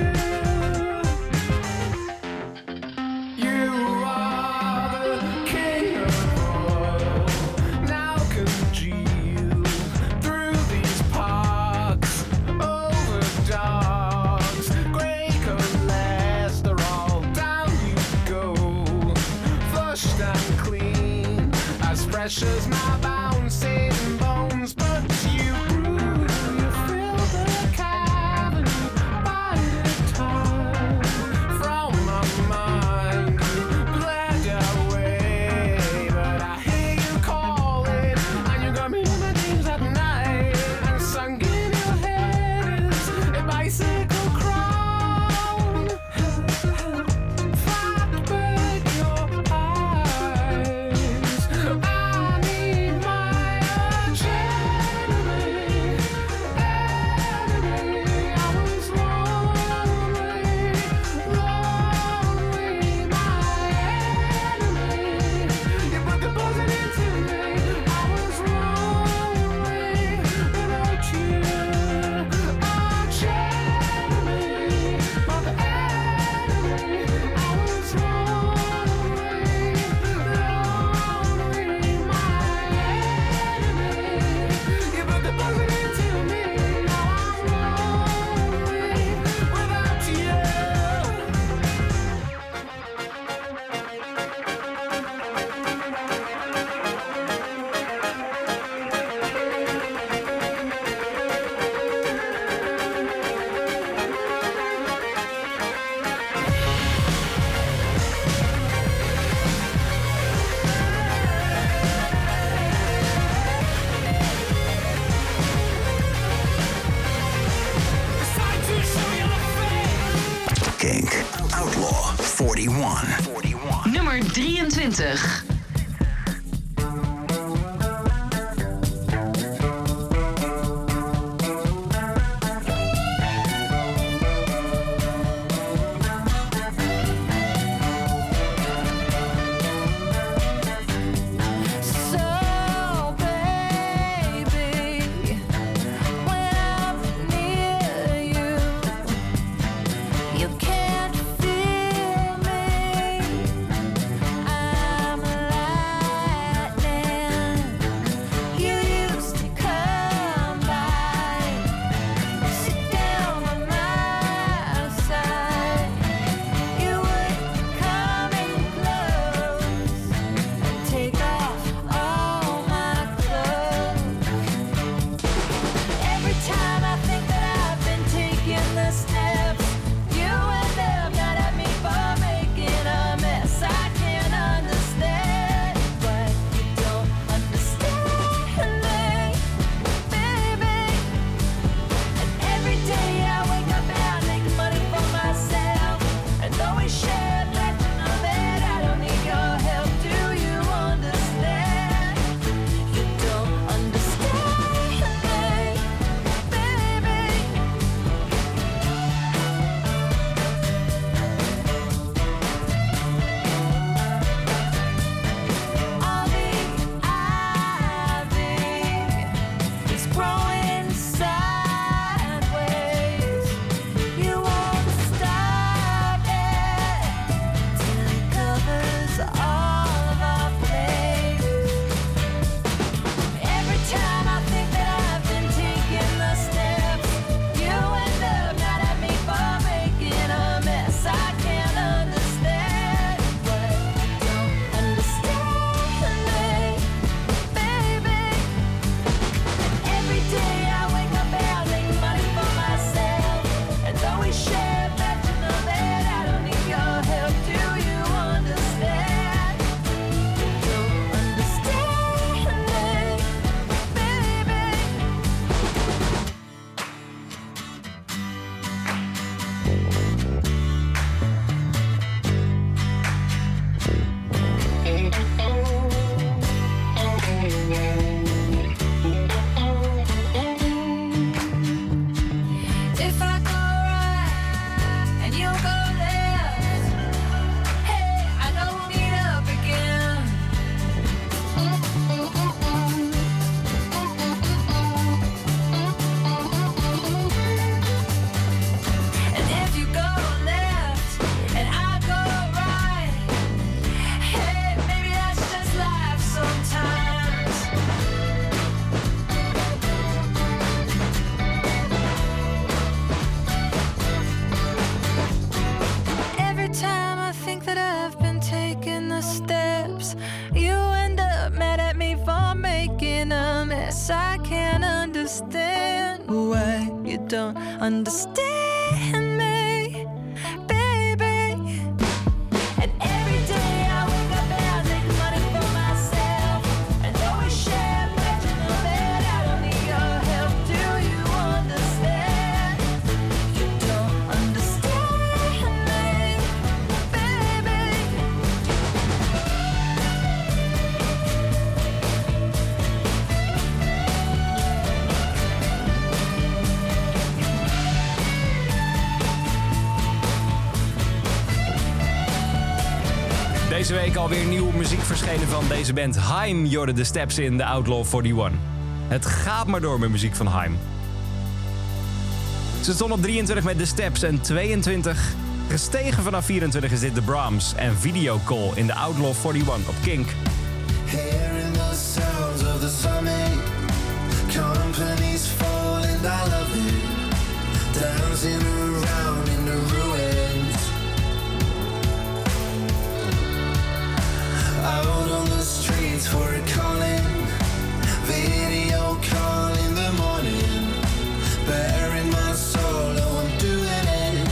You are the king of all. Now congeal through these parks, over dogs, grey cholesterol. Down you go, flushed and clean, as fresh as my bouncing bones. But you brew, you fill the cavern, bided time from my mind. Bled away, but I hear you calling, and you got me in my dreams at night. And sunk in your head is a bicycle crown. Fatberg, your eyes. I need my arch enemy, enemy. I was lonely, lonely, my enemy. You put the buzzard into me. I was lonely without you. Arch enemy, my enemy. I was lonely, lonely, my enemy. You put the buzzard into me. Now I'm lonely without you. It's time to show your face. Kink. Outlaw eenenveertig. Nummer drieëntwintig. So, baby, when I'm near you, you can't feel me. I'm growing sideways. You won't stop it till it covers all of our place. Every time I think that I've been taking the steps, you end up mad at me for making a mess. I can't understand what don't understand me, baby. Every day I wake up and I make money for myself, and though we share bed in the bed, I don't need your help. Do you understand? Don't understand me, baby. If I go right and you go left, hey, I know we'll meet up again. And if you go left and I go right, hey, maybe that's just life sometimes. Every time I think that I've been taking the steps, you end up mad at me for making a mess. I can't understand why you don't understand me, baby. And every day I wake up and I make money for myself, and though we share bed in the bed, I don't need your help. Do you understand? You don't understand me, baby. Deze week alweer nieuwe muziek verschenen van deze band Haim. Jorde de Steps in The Outlaw eenenveertig. Het gaat maar door met muziek van Haim. Ze stond op drieëntwintig met The Steps en tweeëntwintig. Gestegen vanaf vierentwintig is dit The Brahms en Video Call in The Outlaw eenenveertig op Kink. Hearing the sounds of the summit, companies falling, I love it. Dancing around in the ruins, out on the streets for a calling, video call in the morning, bearing my soul, oh I'm doing it.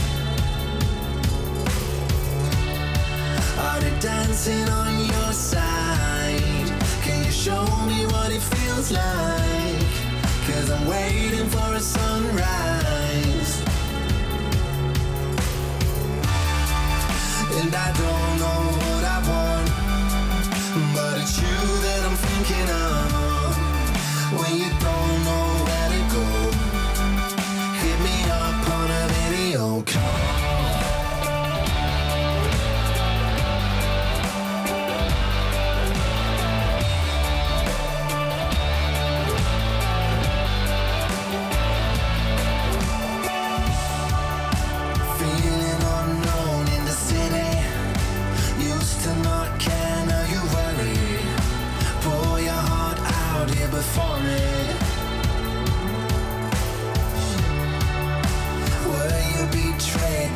Are they dancing on your side? Can you show me what it feels like? Cause I'm waiting for a sunrise, and I don't know what I want, but it's you that I'm thinking of. When you don't know where to go, hit me up on a video call. Feeling unknown in the city, used to not care, now you worry. Pour your heart out here before me. Were you betrayed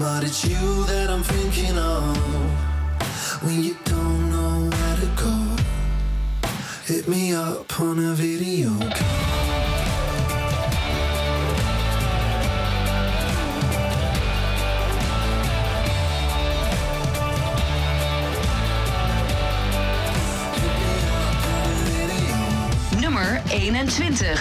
But it's you that I'm thinking of when you don't know where to go. Hit me up on a video call. Nummer eenentwintig.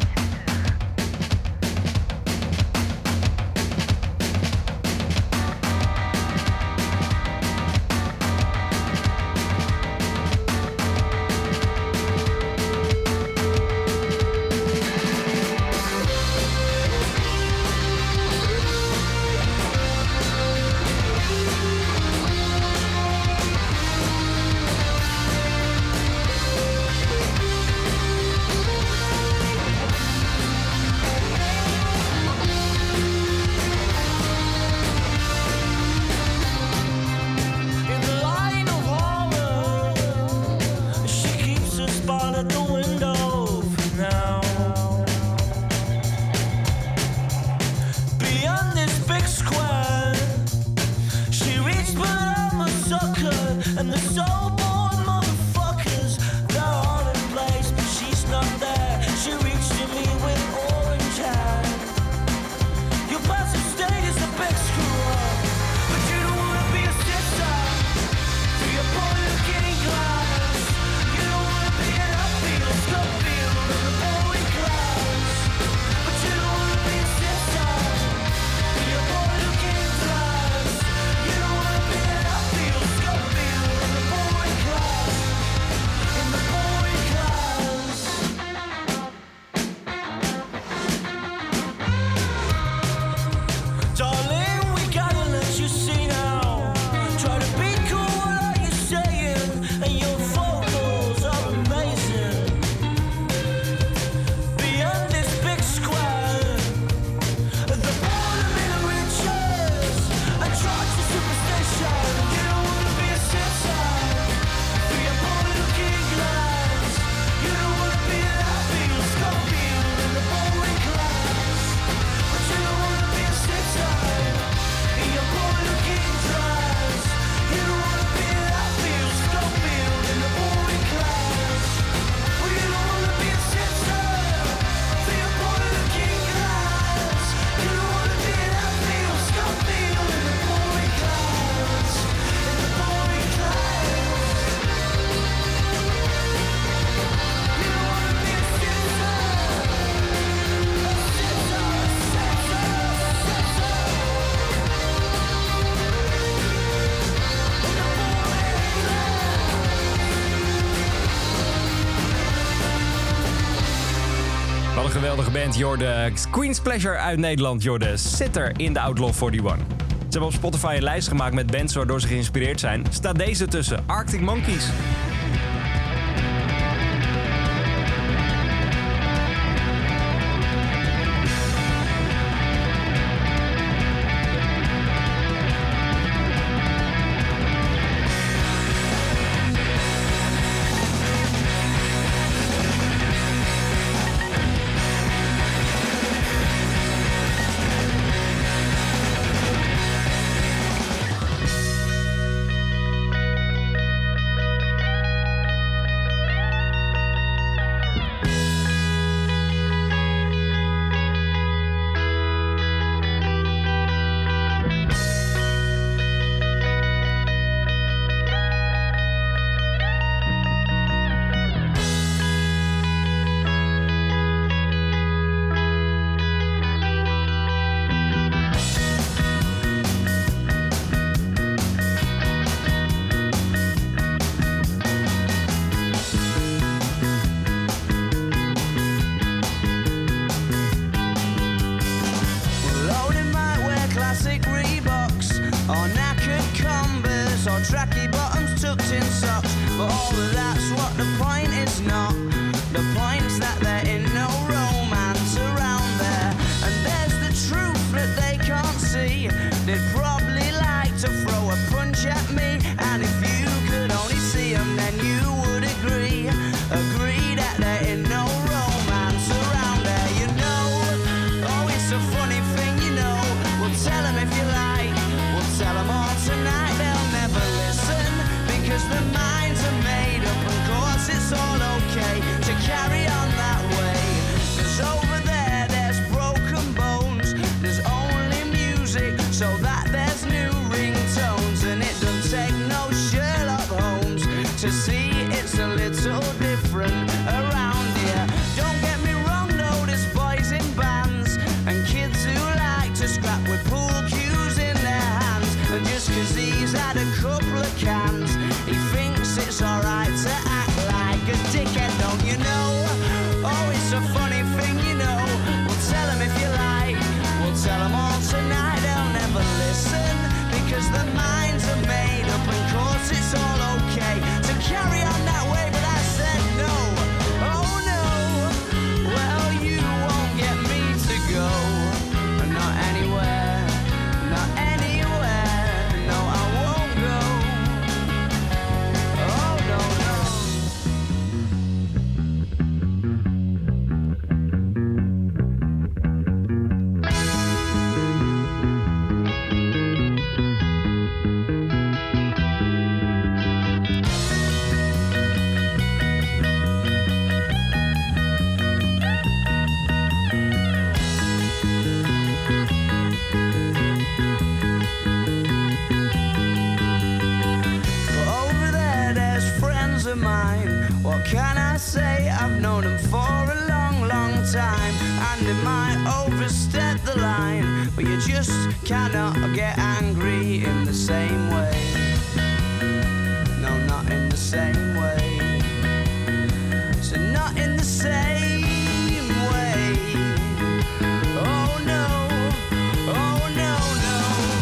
Geweldige band, Jorde. Queen's Pleasure uit Nederland, Jorde. Sitter in de Outlaw eenenveertig. Ze hebben op Spotify een lijst gemaakt met bands waardoor ze geïnspireerd zijn. Staat deze tussen, Arctic Monkeys. tracky bottoms tucked in socks. But all of that's what the point is not. The point's that there ain't no romance around there. And there's the truth that they can't see. They'd probably like to throw a punch at me. And if you could only see them, then you would agree. Agree that there ain't no romance around there, you know. Oh, it's a funny thing, you know. Well, tell them if you like. so that there's new ringtones, and it don't take no Sherlock Holmes to see it's a little different around here. Don't get me wrong though, there's boys in bands and kids who like to scrap with pool cues in their hands, and just cause he's had a couple of cans, he thinks it's alright to act like a dickhead, don't you know? Oh, it's a funny thing, you know. We'll tell him if you like, we'll tell them all tonight, they'll never listen, because their minds are made up, and course it's all okay to carry on that way, but I said no, oh no, well you won't get me to go, not anywhere, not anywhere, no I won't go, oh no, no. Over there, there's friends of mine. What can I say? I've known them for a long, long time, and they might overstep the line, but you just cannot get angry in the same way. No, not in the same way. So not in the same way. Oh no, oh no, no.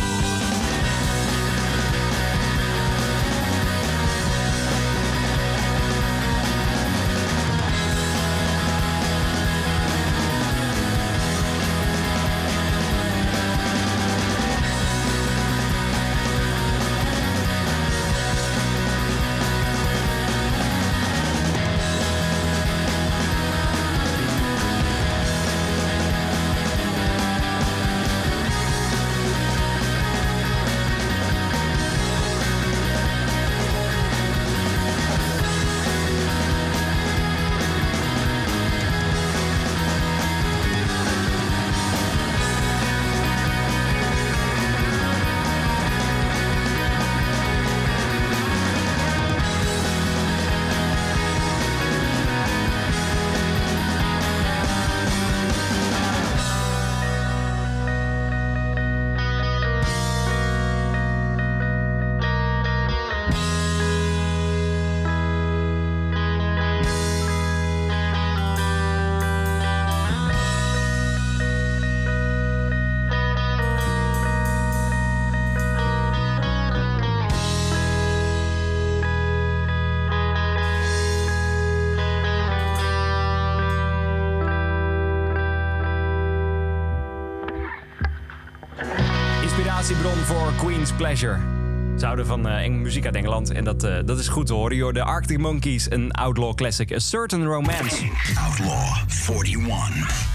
Inspiratiebron voor Queen's Pleasure. Ze houden van uh, eng muziek uit Engeland en dat, uh, dat is goed te horen. Joh. De Arctic Monkeys, een outlaw classic, A Certain Romance. Outlaw eenenveertig.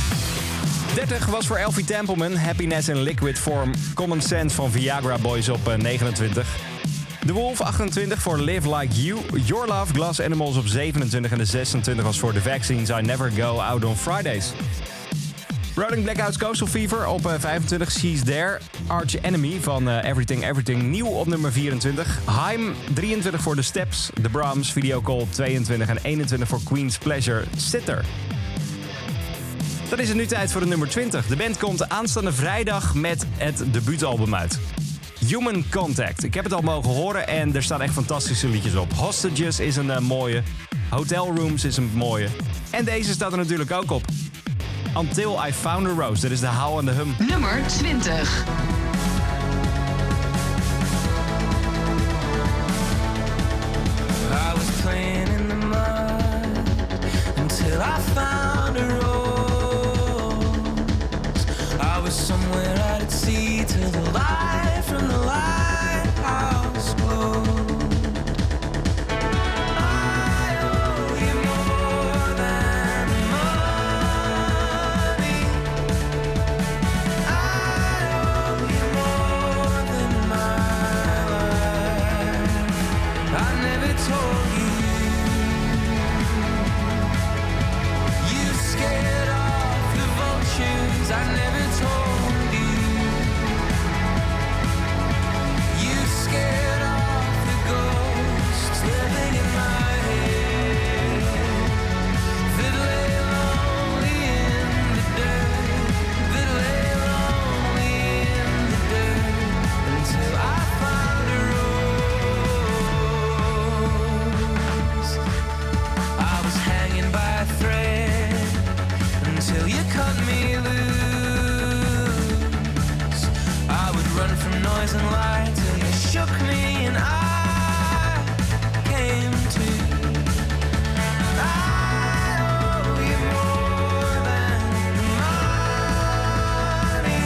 dertig was voor Elfie Templeman, Happiness in Liquid Form, Common Sense van Viagra Boys op uh, negenentwintig. The Wolf achtentwintig voor Live Like You, Your Love, Glass Animals op zevenentwintig en de zesentwintig was voor The Vaccines, I Never Go Out on Fridays. Rolling Blackouts Coastal Fever op uh, vijfentwintig, She's There. Arch Enemy van uh, Everything Everything nieuw op nummer vierentwintig. Haim drieëntwintig voor The Steps. The Brahms Video Call op tweeëntwintig en eenentwintig voor Queen's Pleasure, Sitter. Dan is het nu tijd voor de nummer twintig. De band komt aanstaande vrijdag met het debuutalbum uit. Human Contact. Ik heb het al mogen horen en er staan echt fantastische liedjes op. Hostages is een uh, mooie. Hotel Rooms is een mooie. En deze staat er natuurlijk ook op. Until I Found a Rose. Dat is de How and the Hum. Nummer twintig. I was playing in the mud until I found a rose. I was somewhere out at sea till the light from the lighthouse glowed. I owe you more than money. I owe you noise and light till you shook me and I came to. I owe you more than money.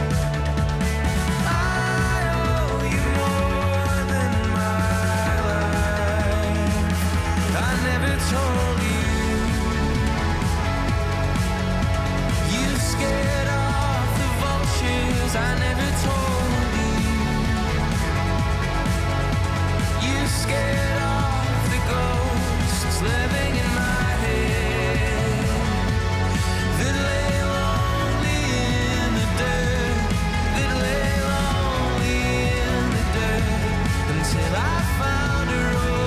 I owe you more than my life. I never told you. You scared off the vultures. I never told you. You scared off the ghosts living in my head that lay lonely in the dirt, that lay lonely in the dirt until I found a rose.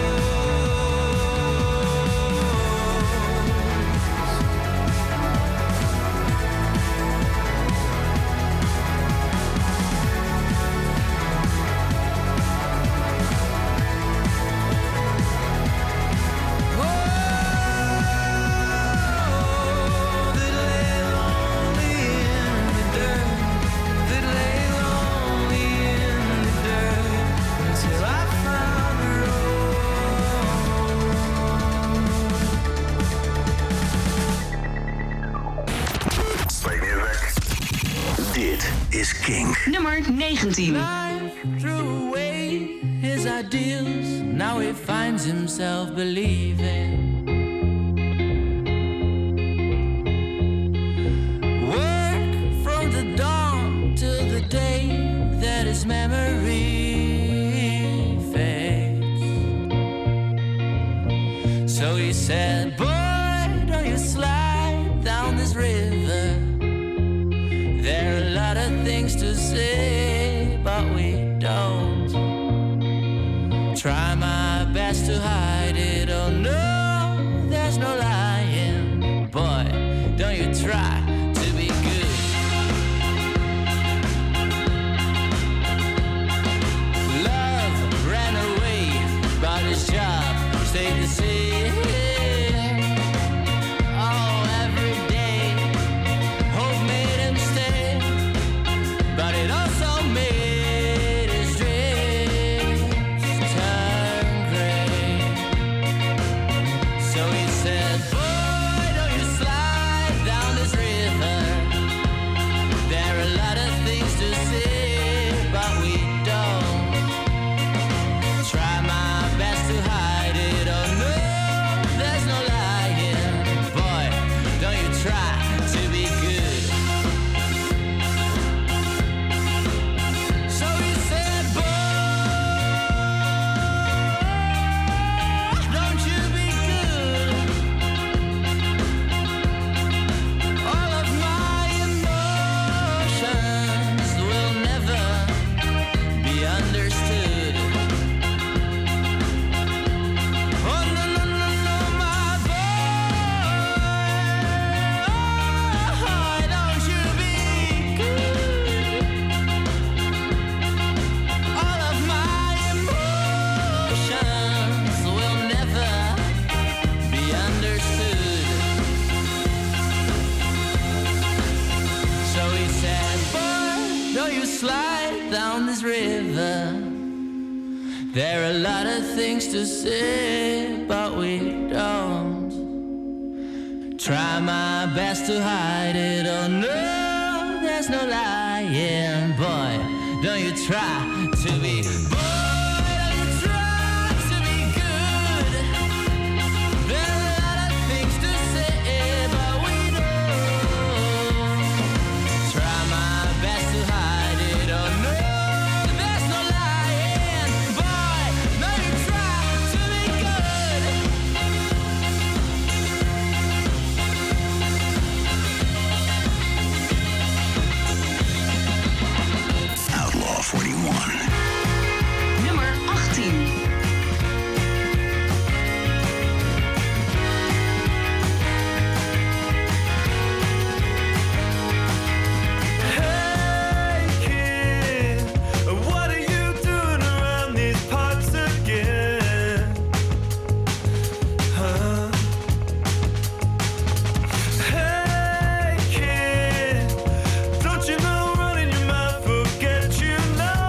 Play music. Dit is Kink. Nummer negentien. Life threw away his ideals. Now he finds himself believing. Work from the dawn till the day that his memory fades. So he said, boy, don't you slide down this river. There are a lot of things to say, but we don't. Try my best to hide it. Oh no, there's no lying. Boy, don't you try to be good. Love ran away, but his job stayed the same. Oh, every day hope made him stay, but it also made his dreams turn gray. So he said, boy, don't you slide down this river. There are a lot of things to say, but we don't. Try my best to hide it. Oh no, there's no lying. Boy, don't you try to be good. So he said, boy, don't you be good. All of my emotions will never be understood. Oh no, no, no, no, my boy, don't you be good. All of my emotions will never be understood. So he said, boy, don't you slide down this river. There are a lot of things to say, but we don't. Try my best to hide it. Oh no, there's no lying. Boy, don't you try to be. Boy, don't you try to be good. There are a lot of things to say, but we don't. Try my best to hide it. Oh no, there's no lying. Boy, don't you try to be good. Outlaw forty-one. Nummer achttien. Hey kid, what are you doing around these parts again? Huh? Hey kid, don't you know running your mouth will get you nowhere?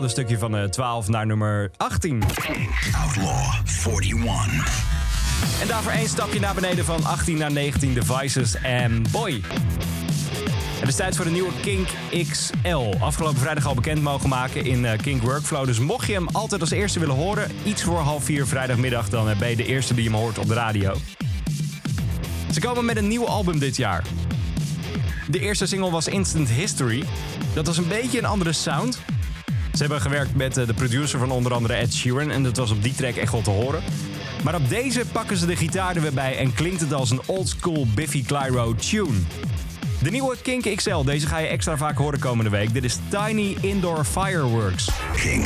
een stukje van uh, twaalf naar nummer achttien. Outlaw eenenveertig. En daarvoor één stapje naar beneden van achttien naar negentien. The Vices en Boy. Het is tijd voor de nieuwe Kink X L. Afgelopen vrijdag al bekend mogen maken in uh, Kink Workflow. Dus mocht je hem altijd als eerste willen horen, iets voor half vier vrijdagmiddag, dan uh, ben je de eerste die hem hoort op de radio. Ze komen met een nieuw album dit jaar. De eerste single was Instant History. Dat was een beetje een andere sound. Ze hebben gewerkt met uh, de producer van onder andere Ed Sheeran en dat was op die track echt wel te horen. Maar op deze pakken ze de gitaar er weer bij en klinkt het als een oldschool Biffy Clyro tune. De nieuwe Kink X L, deze ga je extra vaak horen komende week. Dit is Tiny Indoor Fireworks. Kink.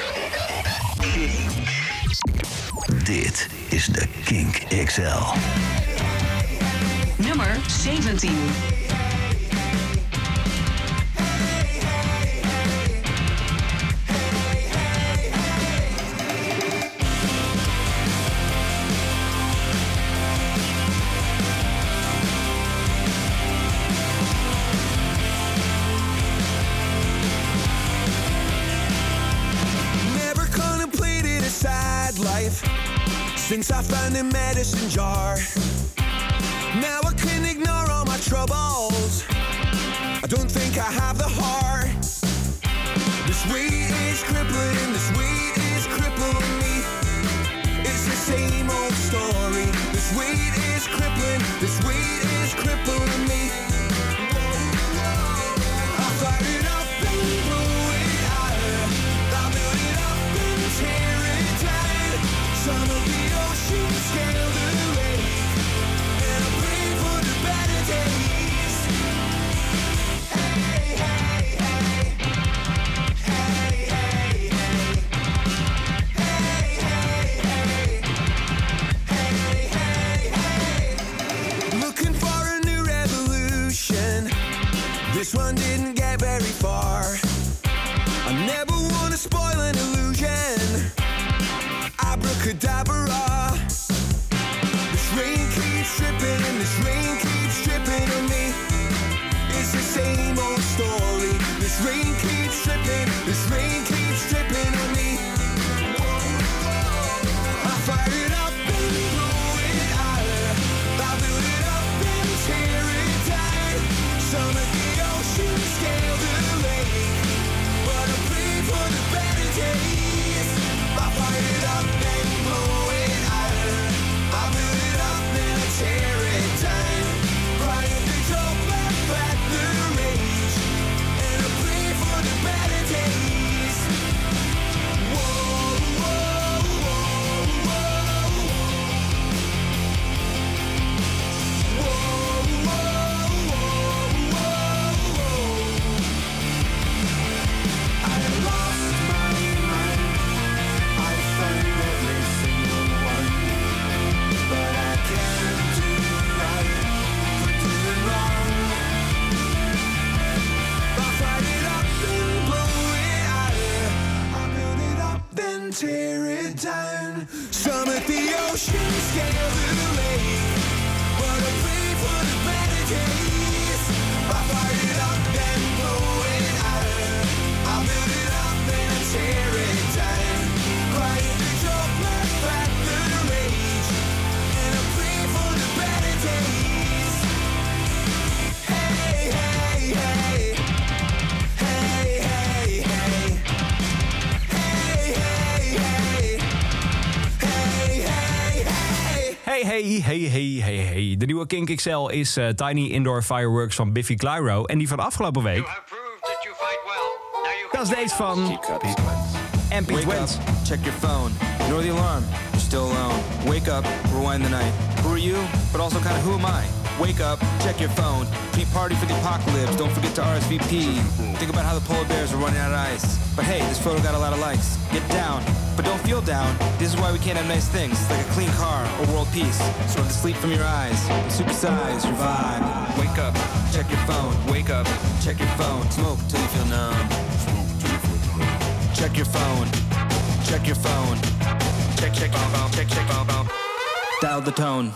Dit is de Kink X L. Nummer zeventien. Since I found a medicine jar, now I can ignore all my troubles. I don't think I have the heart. This weight is crippling, this weight is crippling me. It's the same old story. This weight is crippling, this weight is crippling me. I fire it up and blow it out. I build it up and tear it down. Some of the ocean scale the lake, and I pray for the better days. Hey, hey, hey. Hey, hey, hey. Hey, hey, hey. Hey, hey, hey. Looking for a new revolution. This one didn't get very far. I never want to spoil an illusion. Abracadabra. This rain keeps dripping and this rain keeps dripping on me. It's the same old story. This rain keeps dripping, this rain keeps dripping on me. I fire it up and blow it out. I build it up and tear it down. Some of the ocean scale the lake, but I pray for the better days. I fire it up and blow it out. I build it up and I tear it down. Crying the joke back back the rage, and I pray for the better days. Whoa, whoa, whoa, whoa. Whoa, whoa, whoa, whoa. I lost my mind. I found every single one, but I can't do right for doing wrong. I fight it up and blow it out. I build it up, then tear it down. Some at the ocean scale the lake, but I pray for the better days. I fight it up, then blow it out. I build it up, then tear it down. Crying the joke, laugh back the rage, and I pray for the better days. Hey, hey, hey. Hey, hey, hey. Hey, hey, hey. Hey, hey, hey. Hey, hey, hey, hey, hey, hey. De nieuwe Kink X L is uh, Tiny Indoor Fireworks van Biffy Clyro. En die van afgelopen week, dat is deze van M P Wake Twins. up, check your phone, ignore the alarm, you're still alone. Wake up, rewind the night. Who are you? But also kind of who am I? Wake up, check your phone, pre-party for the apocalypse, don't forget to R S V P. Think about how the polar bears are running out of ice. But hey, this photo got a lot of likes. Get down, but don't feel down. This is why we can't have nice things, like a clean car or world peace. So to sleep from your eyes, supersize your vibe. Wake up, check your phone, wake up, check your phone, smoke till you feel numb. Check your phone, check your phone, check, check your phone, check, check your phone. Dial the tone.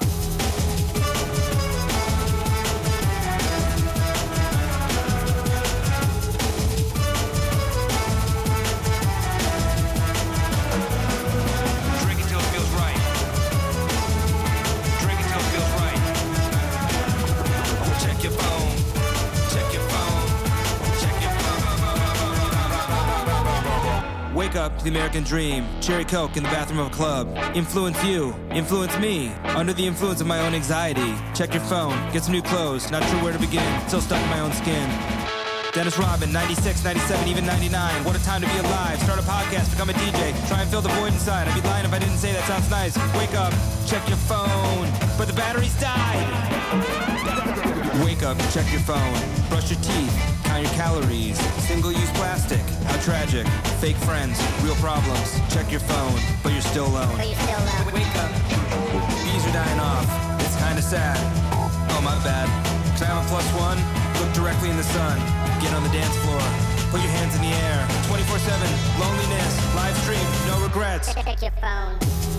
up to the American dream. Cherry Coke in the bathroom of a club. Influence you, influence me. Under the influence of my own anxiety. Check your phone, get some new clothes. Not sure where to begin, still stuck in my own skin. Dennis Rodman, ninety-six, ninety-seven, even ninety-nine. What a time to be alive. Start a podcast, become a D J. Try and fill the void inside. I'd be lying if I didn't say that sounds nice. Wake up, check your phone. But the battery's died. Wake up, check your phone. Brush your teeth, count your calories. Single-use plastic, how tragic. Fake friends, real problems. Check your phone, but you're still alone. But you're still alone. Wake up. Bees are dying off. It's kinda sad. Oh, my bad. Can I have a plus one? Look directly in the sun. Get on the dance floor. Put your hands in the air. twenty-four seven. Loneliness. Live stream. No regrets. Check your phone.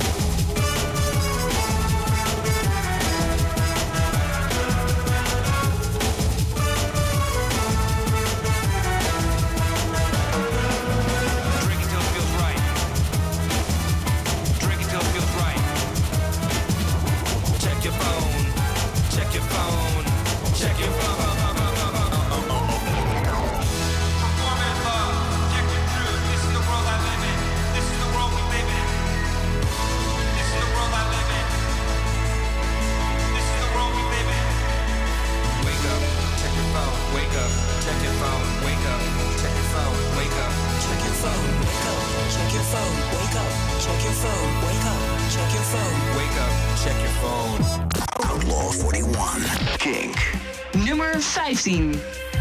Drink until it feels right. Drink until it feels right. Check your phone. Check your phone. Check your phone. Wake up, check your phone, wake up, check your phone, wake up. Check your phone, wake up, check your phone, wake up, check your phone, wake up, check your phone. Wake up, check your phone. Outlaw forty-one, Kink. Nummer vijftien.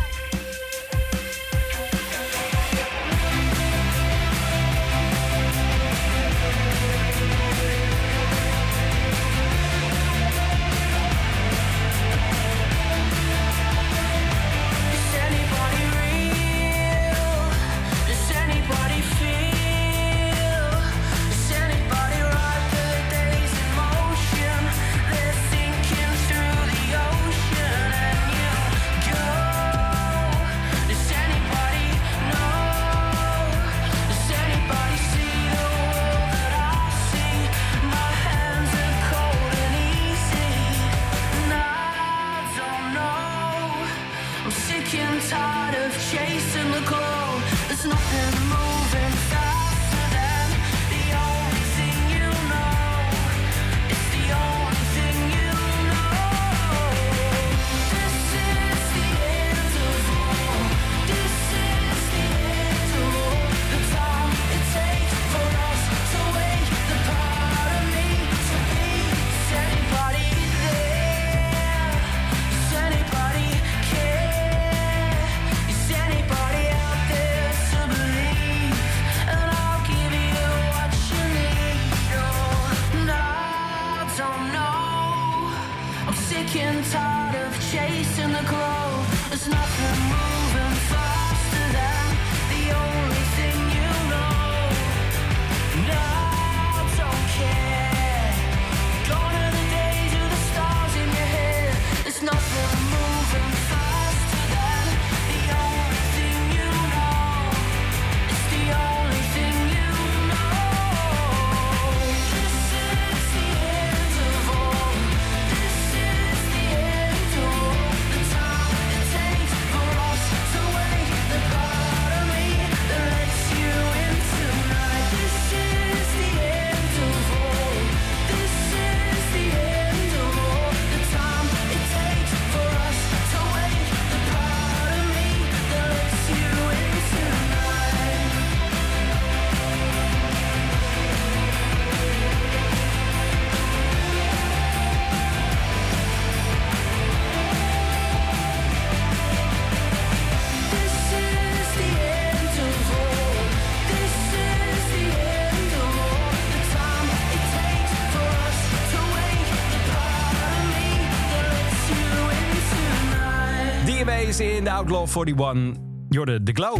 In de Outlaw forty-one, Jorde The Glow.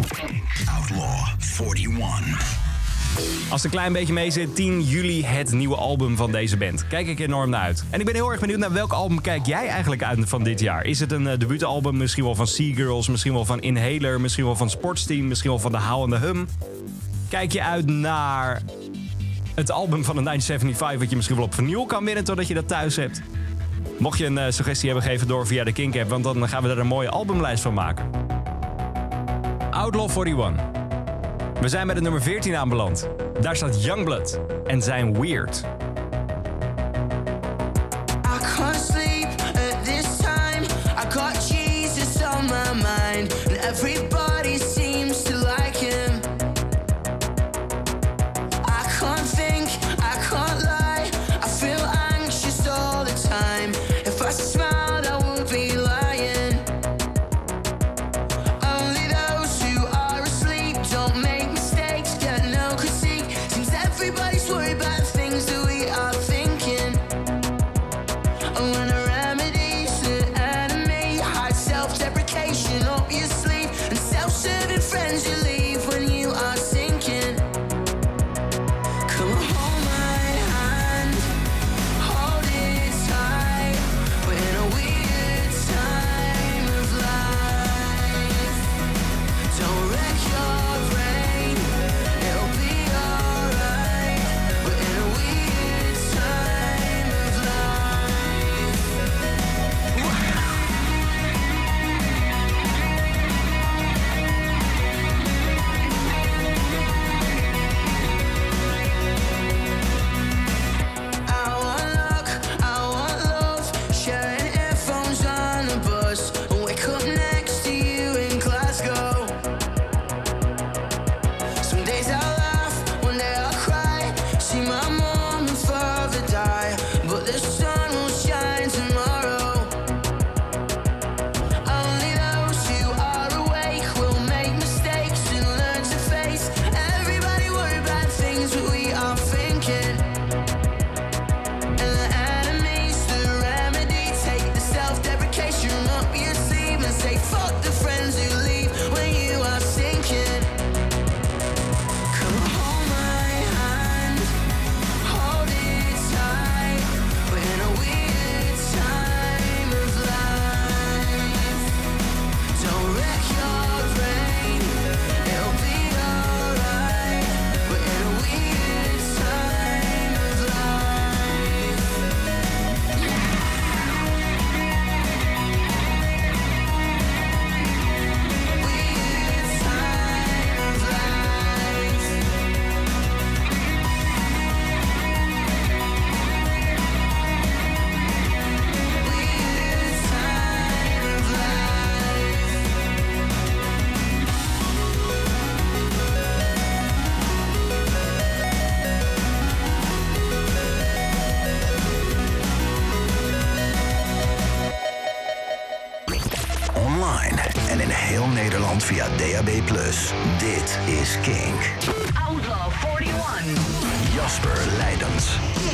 Outlaw forty-one. Als een klein beetje mee zit, tien juli het nieuwe album van deze band. Kijk ik enorm naar uit. En ik ben heel erg benieuwd naar welk album kijk jij eigenlijk uit van dit jaar. Is het een uh, debuutalbum, misschien wel van Seagirls, misschien wel van Inhaler, misschien wel van Sportsteam, misschien wel van The How and the Hum. Kijk je uit naar het album van de negentien zevenenzeventig wat je misschien wel op vinyl kan winnen totdat je dat thuis hebt? Mocht je een uh, suggestie hebben, geef het door via de Kink app, want dan gaan we er een mooie albumlijst van maken. Outlaw forty-one. We zijn bij de nummer veertien aanbeland. Daar staat Youngblood en zijn Weird. I can't sleep at this time. I got Jesus on my mind, and everybody seems to like him. I can't think, I can't lie. I feel anxious all the time. If I smiled, I would be lying. Only those who are asleep don't make mistakes, get no critique. Seems everybody's worried about things that we are thinking. When a remedy's the enemy, hide self-deprecation up your sleeve, and self-serving friends you leave when you are sinking. Come hold my hand, hold it tight. We're in a weird time of life. Don't wreck your brain, it'll be alright. We're in a weird time of life. I want luck, I want love, sharing earphones on a bus, wake up next to you in Glasgow. Some days I laugh, one day I cry, see my mom and father die, but the sun will shine tomorrow. Only those who are awake will make mistakes and learn to face. Everybody worry about things that we are thinking. And the enemy's the remedy. Take the self-deprecation up your sleeve and say fuck the friends who leave when you are sinking. Come hold my hand, hold it tight. We're in a weird time of life. Don't wreck your brain, it'll be alright. We're in a weird time of life. Weird time of life. Weird time of life. Online en in heel Nederland via D A B plus. Dit is Kink. Outlaw eenenveertig. Jasper Leidens.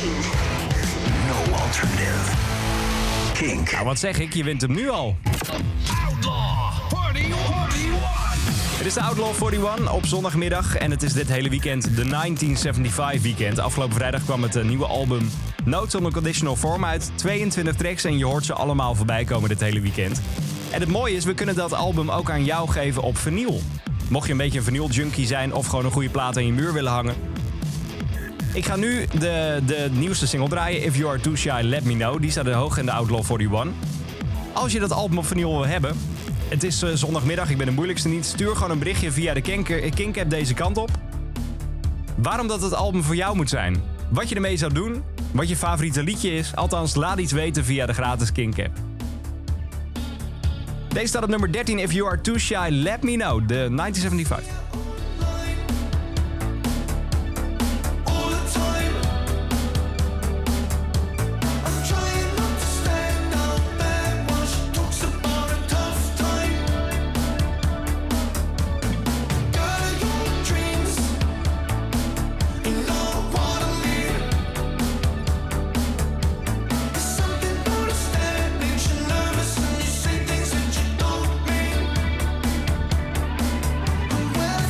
No alternative. Kink. Nou, wat zeg ik? Je wint hem nu al. Outlaw eenenveertig. Het is de Outlaw eenenveertig op zondagmiddag en het is dit hele weekend de negentien zevenenzeventig weekend. Afgelopen vrijdag kwam het eh, nieuwe album Notes on a Conditional Form uit. tweeëntwintig tracks en je hoort ze allemaal voorbij komen dit hele weekend. En het mooie is, we kunnen dat album ook aan jou geven op vinyl. Mocht je een beetje een vinyl junkie zijn of gewoon een goede plaat aan je muur willen hangen. Ik ga nu de, de nieuwste single draaien, If You Are Too Shy, Let Me Know. Die staat er hoog in de Outlaw eenenveertig. Als je dat album op vinyl wil hebben, het is uh, zondagmiddag, ik ben de moeilijkste niet. Stuur gewoon een berichtje via de Kink, Kink-app deze kant op. Waarom dat het album voor jou moet zijn. Wat je ermee zou doen, wat je favoriete liedje is. Althans, laat iets weten via de gratis Kink-app. Deze staat op nummer dertien, If You Are Too Shy, Let Me Know, de negentien zevenenzeventig. All the time, I'm trying not to stand out there while she talks about a tough time. Girl, your dreams, you know what I mean. There's something about a stare, makes you nervous, and you say things that you don't mean.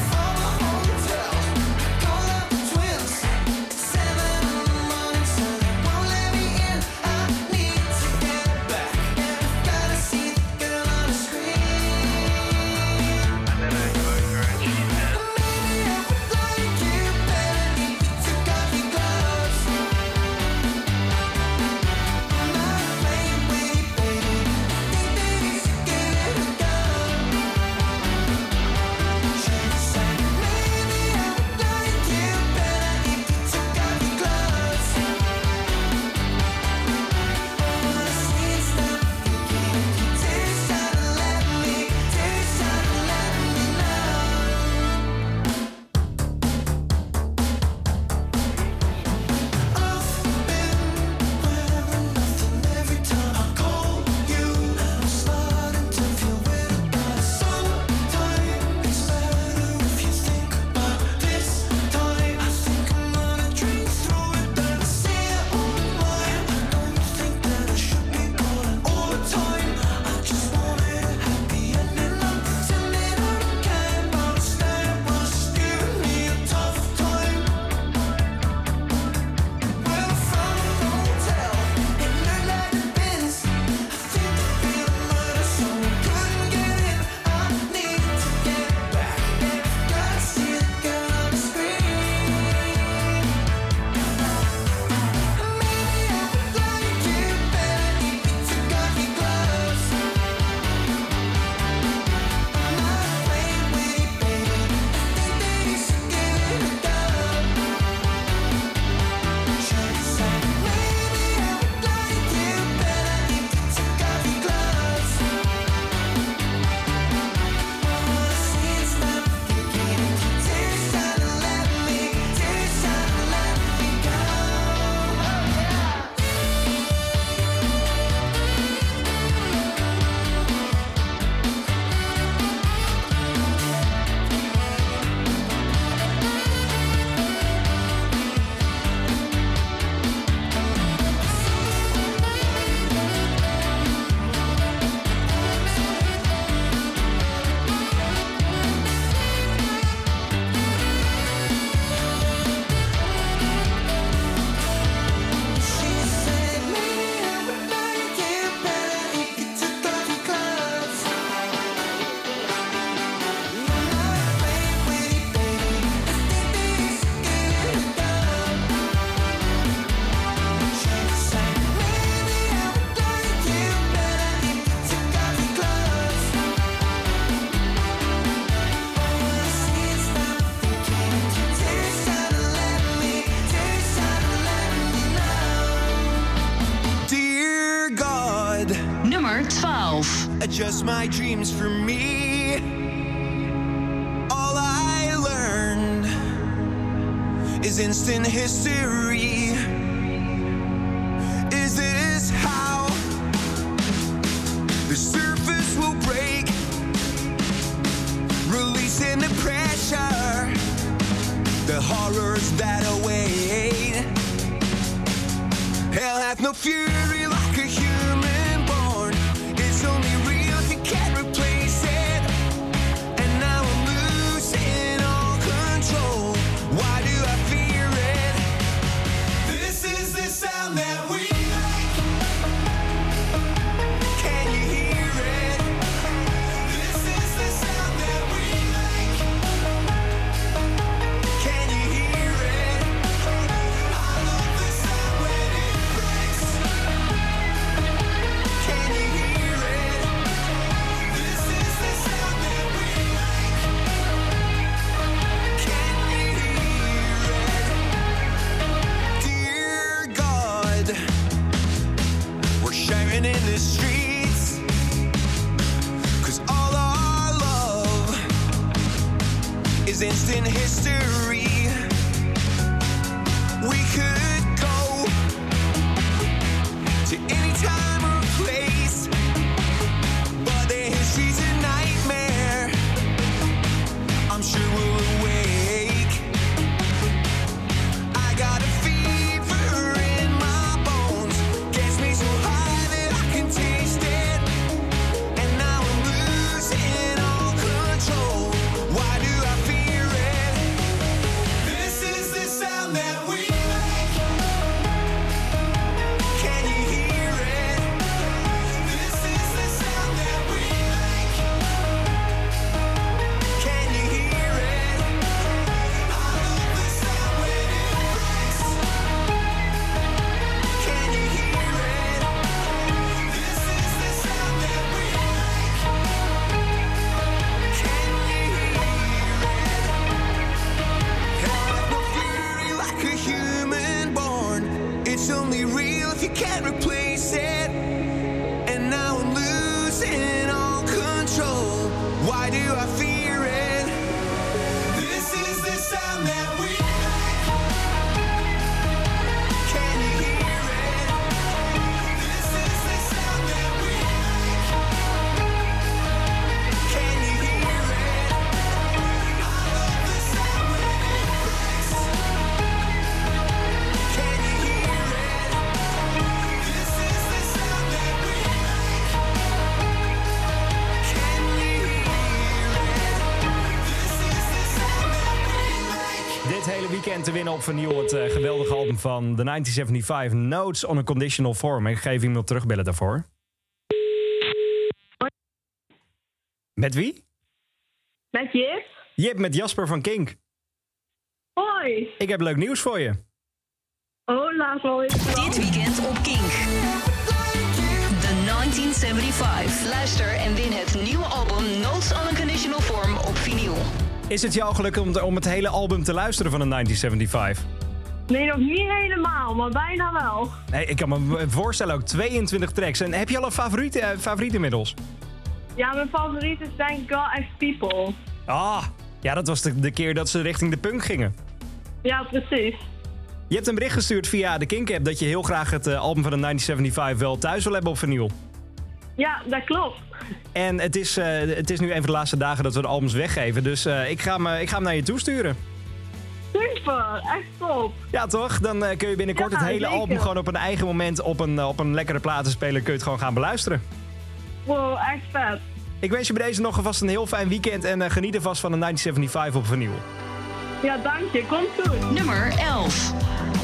twaalf. Just my dreams for me. All I learned is instant history. Is this how the surface will break, releasing the pressure, the horrors that await? Hell hath no fury like a human born. It's only real if you can't replace it. And now I'm losing all control. Why do I fear it? This is the sound that we make. Can you hear it? This is the sound that we make. Can you hear it? I love the sound when it breaks. Can you hear it? This is the sound that we make. Can you hear it? Dear God, we're sharing in the streets, 'cause all our love is instant history. We could go to any time or place, but the history's a nightmare. I'm sure we'll awake. I got a fever in my bones, gets me so high that I can taste it. And now I'm losing all control. Why do I fear it? This is the sound that we make. Can you hear it? This is the sound that we make. Can you hear it? I love the sound when it breaks. Can you hear it? This is the sound that we make. Can you hear it? Hell hath no fury like a human born. It's only real if you can't replace it. And now I'm losing all control. Why do I fear it? This is the sound that we make. Can you hear it? This is the sound that we make. Can you hear it? I love the sound when it breaks. Can you hear it? This is the sound that we make. Can you hear it? This is the sound that we make. Dit hele weekend te winnen op vinyl het eh, geweldige album van de negentien zevenenzeventig, Notes on a Conditional Form. Ik ga even iemand terugbellen daarvoor. Met wie? Met Jip? Jip, met Jasper van Kink. Hoi. Ik heb leuk nieuws voor je. Oh, laat wel eens. Dit weekend op Kink. De negentien zevenenzeventig. Luister en win het nieuwe album Notes on a Conditional Form op vinyl. Is het jou gelukt om, om het hele album te luisteren van de negentien zevenenzeventig? Nee, nog niet helemaal, maar bijna wel. Nee, ik kan me voorstellen ook tweeëntwintig tracks. En heb je al een favoriet, eh, favoriet inmiddels? Ja, mijn favoriet is denk ik God X People. Ah, ja, dat was de, de keer dat ze richting de punk gingen. Ja, precies. Je hebt een bericht gestuurd via de Kink-app dat je heel graag het eh, album van de negentien zevenenzeventig wel thuis wil hebben op vinyl. Ja, dat klopt. En het is, uh, het is nu een van de laatste dagen dat we de albums weggeven. Dus uh, ik, ga hem, uh, ik ga hem naar je toesturen. Super, echt top. Ja toch? Dan uh, kun je binnenkort Ja, het hele zeker. album gewoon op een eigen moment op een, uh, op een lekkere platenspeler kun je het gewoon gaan beluisteren. Wow, echt vet. Ik wens je bij deze nog alvast een heel fijn weekend en uh, geniet er vast van de negentien zevenenzeventig op vinyl. Ja, dank je. Komt goed. Nummer elf.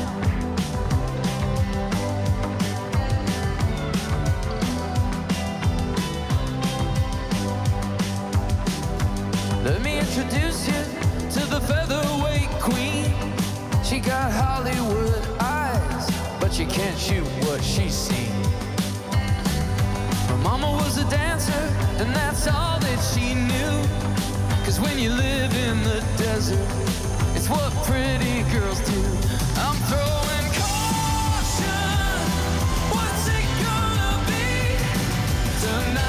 Let me introduce you to the featherweight queen. She got Hollywood eyes, but you can't shoot what she's seen. Her mama was a dancer, and that's all that she knew. Cause when you live in the desert, it's what pretty girls do. I'm throwing caution. What's it gonna be tonight?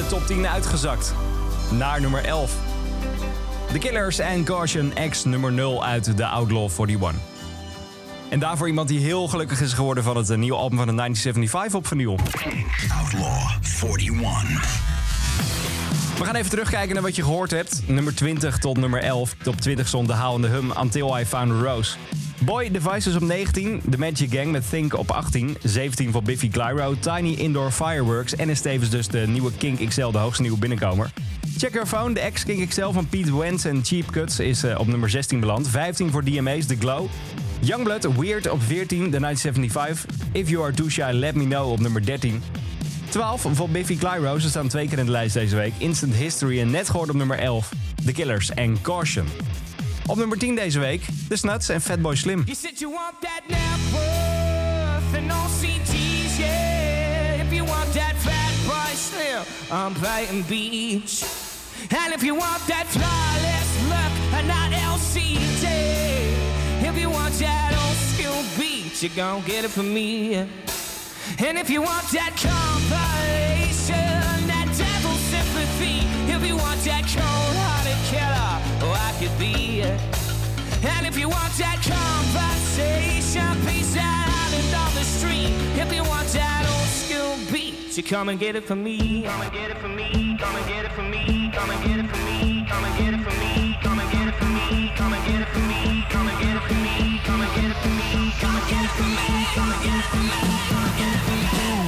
top tien uitgezakt. Naar nummer elf. The Killers en Caution X nummer nul uit de Outlaw eenenveertig. En daarvoor iemand die heel gelukkig is geworden van het nieuwe album van de negentien zevenenzeventig op vinyl. Outlaw eenenveertig. We gaan even terugkijken naar wat je gehoord hebt. Nummer twintig tot nummer elf. Top twintig stond de How and the Hum Until I Found a Rose. Boy Devices op negentien. The Magic Gang met Think op achttien. zeventien voor Biffy Clyro. Tiny Indoor Fireworks. En is tevens dus de nieuwe Kink X L, de hoogste nieuwe binnenkomer. Check Your Phone, de ex-Kink X L van Pete Wentz en Cheap Cuts is uh, op nummer zestien beland. vijftien voor D M A's, The Glow. Youngblood, Weird op veertien, de negentien zevenenzeventig. If You Are Too Shy, Let Me Know op nummer dertien. twaalf voor Biffy Clyro, ze staan twee keer in de lijst deze week. Instant History en net gehoord op nummer elf. The Killers en Caution. Op nummer tien deze week, The Snuts en Fatboy Slim. You said you want that net worth and no C Ds, yeah. If you want that fat boy slim on Brighton Beach. And if you want that flawless look and not L C D. If you want that old school beat, you gon' get it from me. And if you want that compilation, that devil sympathy. If you want that cold-hearted killer, oh, I could be. And if you want that conversation, peace out and on the street. If you want that old school beat, you come and get it from me. Come and get it from me. Come and get it from me. Come and get it from me. Come and get it from me. Come and get it from me. Come and get it from me. Come and get it from me. Come and get it from me. Come and get it from me. Come and get it from me. Come and get it from me.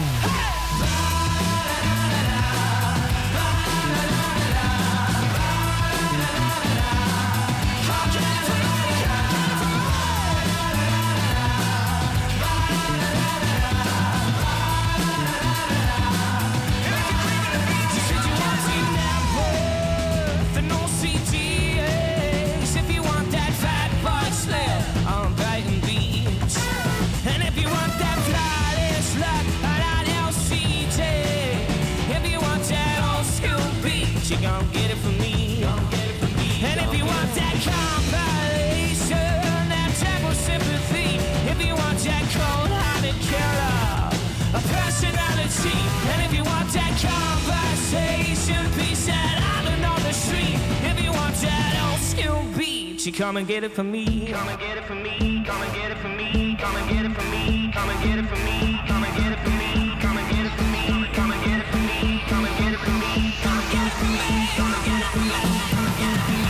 You gon' get it from me. And if you want that compilation, that type of sympathy, if you want that cold-hearted killer, a personality, and if you want that conversation, peace that island on the street, if you want that old school beat, you come and get it from me. Come and get it from me. Come and get it from me. Come and get it from me. Come and get it from me. Come and get it from me. Come and get it from me. Come and get it from me. Come and get it from me. Come and get it from me. Come and get it from me. Come and get it from me.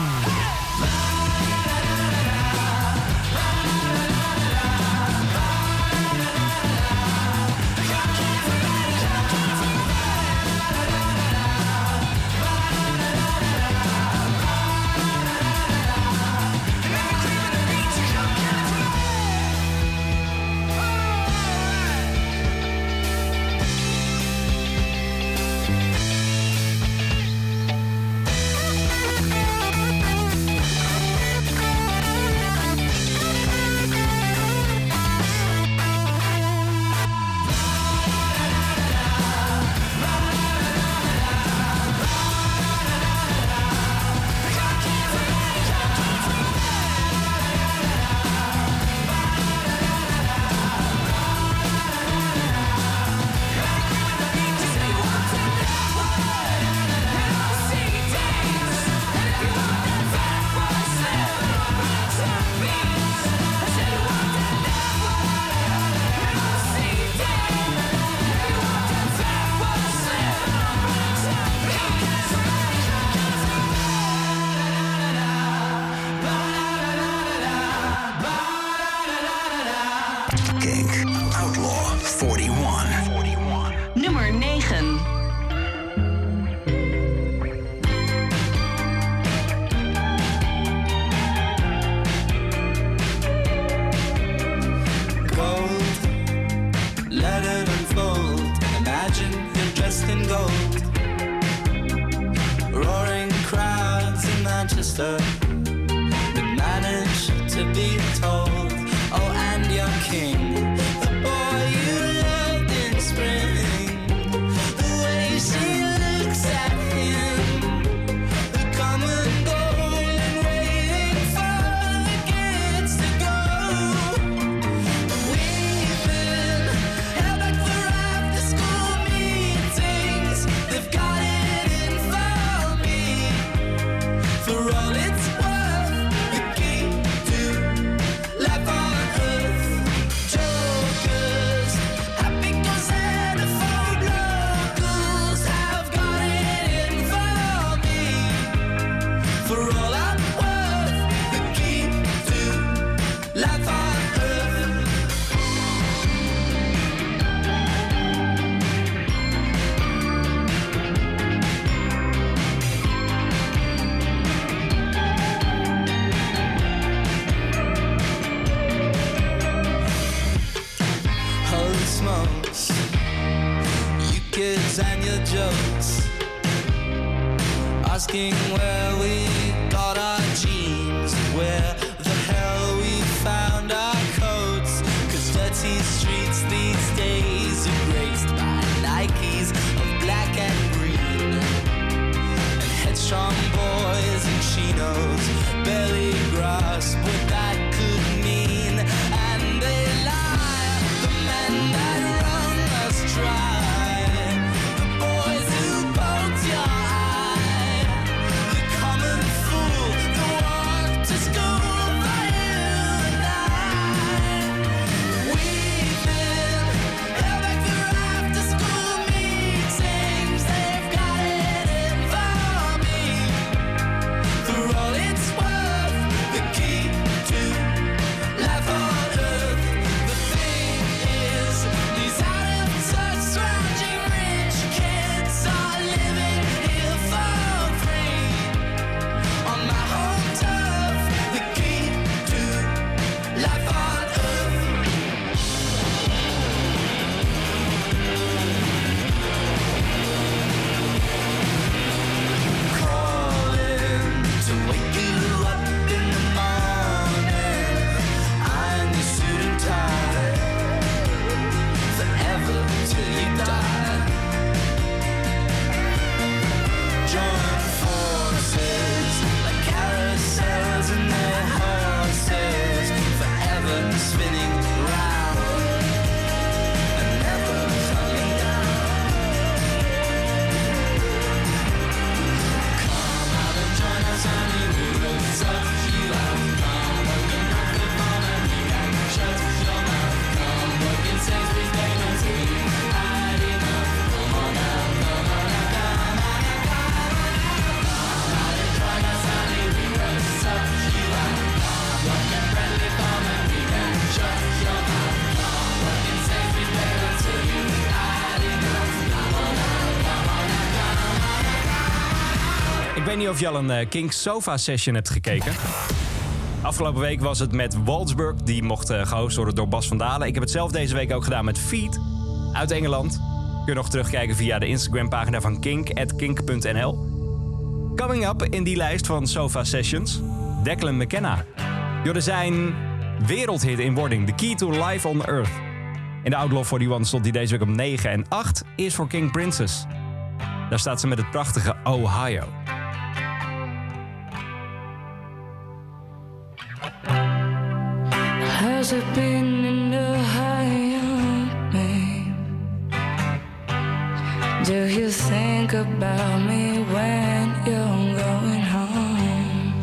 Manchester would manage to be told, oh, and your king, the boy you loved in spring, the way she looks at him, the come and go and waiting for the kids to go. We've been held back for after school meetings, they've got it. asking where we got our jeans, where the hell we found our coats. Cause dirty streets these days are graced by Nikes of black and green, and headstrong boys in chinos barely grasp what that could mean. And they lie, the men that wrung us dry, the boys who poked your eye, the common fool that walked to school for you and I. We've been held back through after school meetings, they've got it in for me. For all it's worth, the key to life on earth. The thing is, these out of touch, scrounging rich kids are living here for free. On my home turf, the key to life on earth. Calling to wake you up in the morning. I'm your suit and tie, forever till you die. Join forces like carousels and their horses, forever spinning round and never coming down. Come out and join us, honey, we will touch you out. Come work and rock the phone and we can shut your mouth. Come work in Sainsbury's, babe, until you had enough. Come on now, come on now, come on now, come on now. Come out and join us, honey, we will touch you out. Come work in Friendly Farm and we can shut your mouth. Come work in Sainsbury's, babe, until you had enough. Come on now, come on now, come on now. Ik weet niet of je al een eh, Kink Sofa Session hebt gekeken. Afgelopen week was het met Waldsburg. Die mocht eh, gehost worden door Bas van Dalen. Ik heb het zelf deze week ook gedaan met Feet uit Engeland. Kun je nog terugkijken via de Instagram-pagina van Kink, at kink punt n l. Coming up in die lijst van Sofa Sessions, Declan McKenna. Joh, zijn wereldhit in wording, The Key to Life on Earth. In de Outlaw eenenveertig stond hij deze week op negen. En acht is voor King Princess. Daar staat ze met het prachtige Ohio. Has it been in Ohio, babe? Do you think about me when you're going home?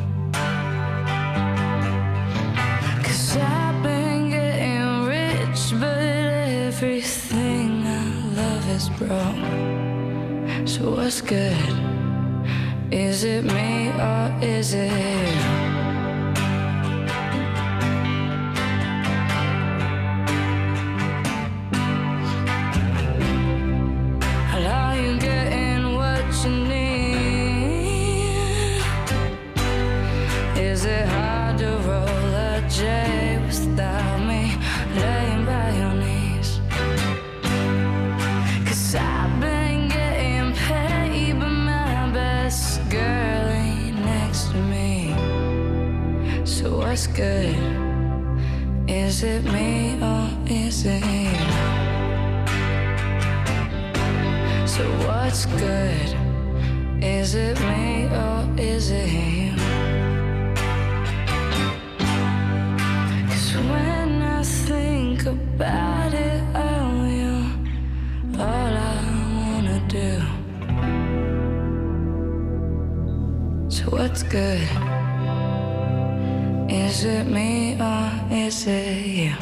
'Cause I've been getting rich, but everything I love is broke. So what's good? Is it me or is it you? Are you getting what you need? Is it hard to roll a J without me laying by your knees? 'Cause I've been getting paid, but my best girl ain't next to me. So what's good? Is it me or is it you? So what's good? Is it me or is it you? 'Cause when I think about it, oh, you're all I wanna do. So what's good? Is it me or is it you?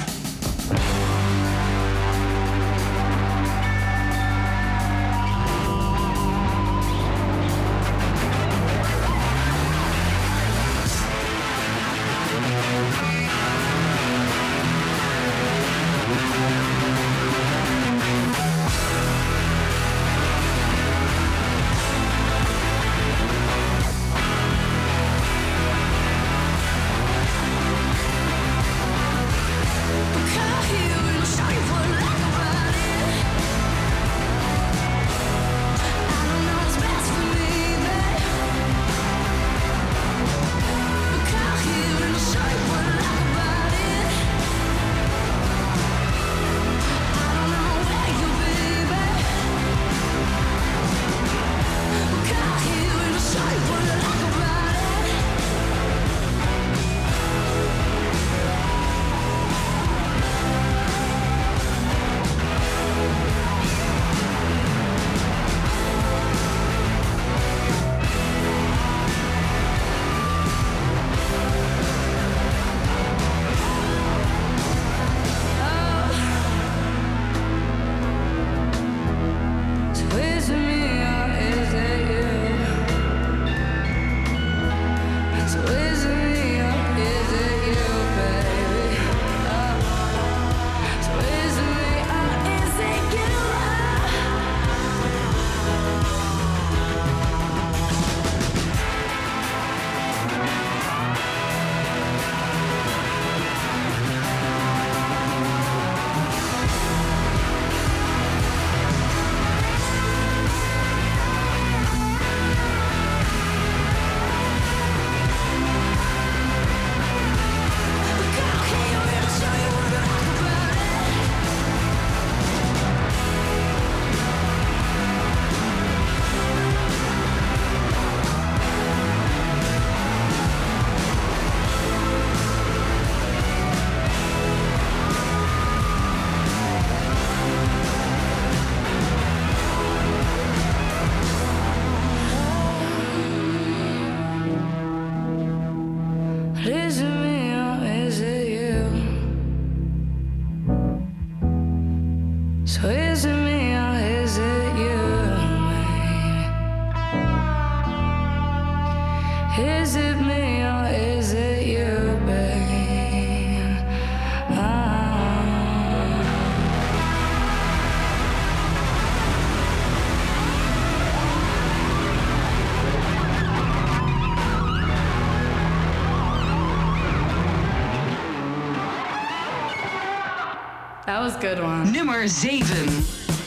That was a good one. Nummer zeven.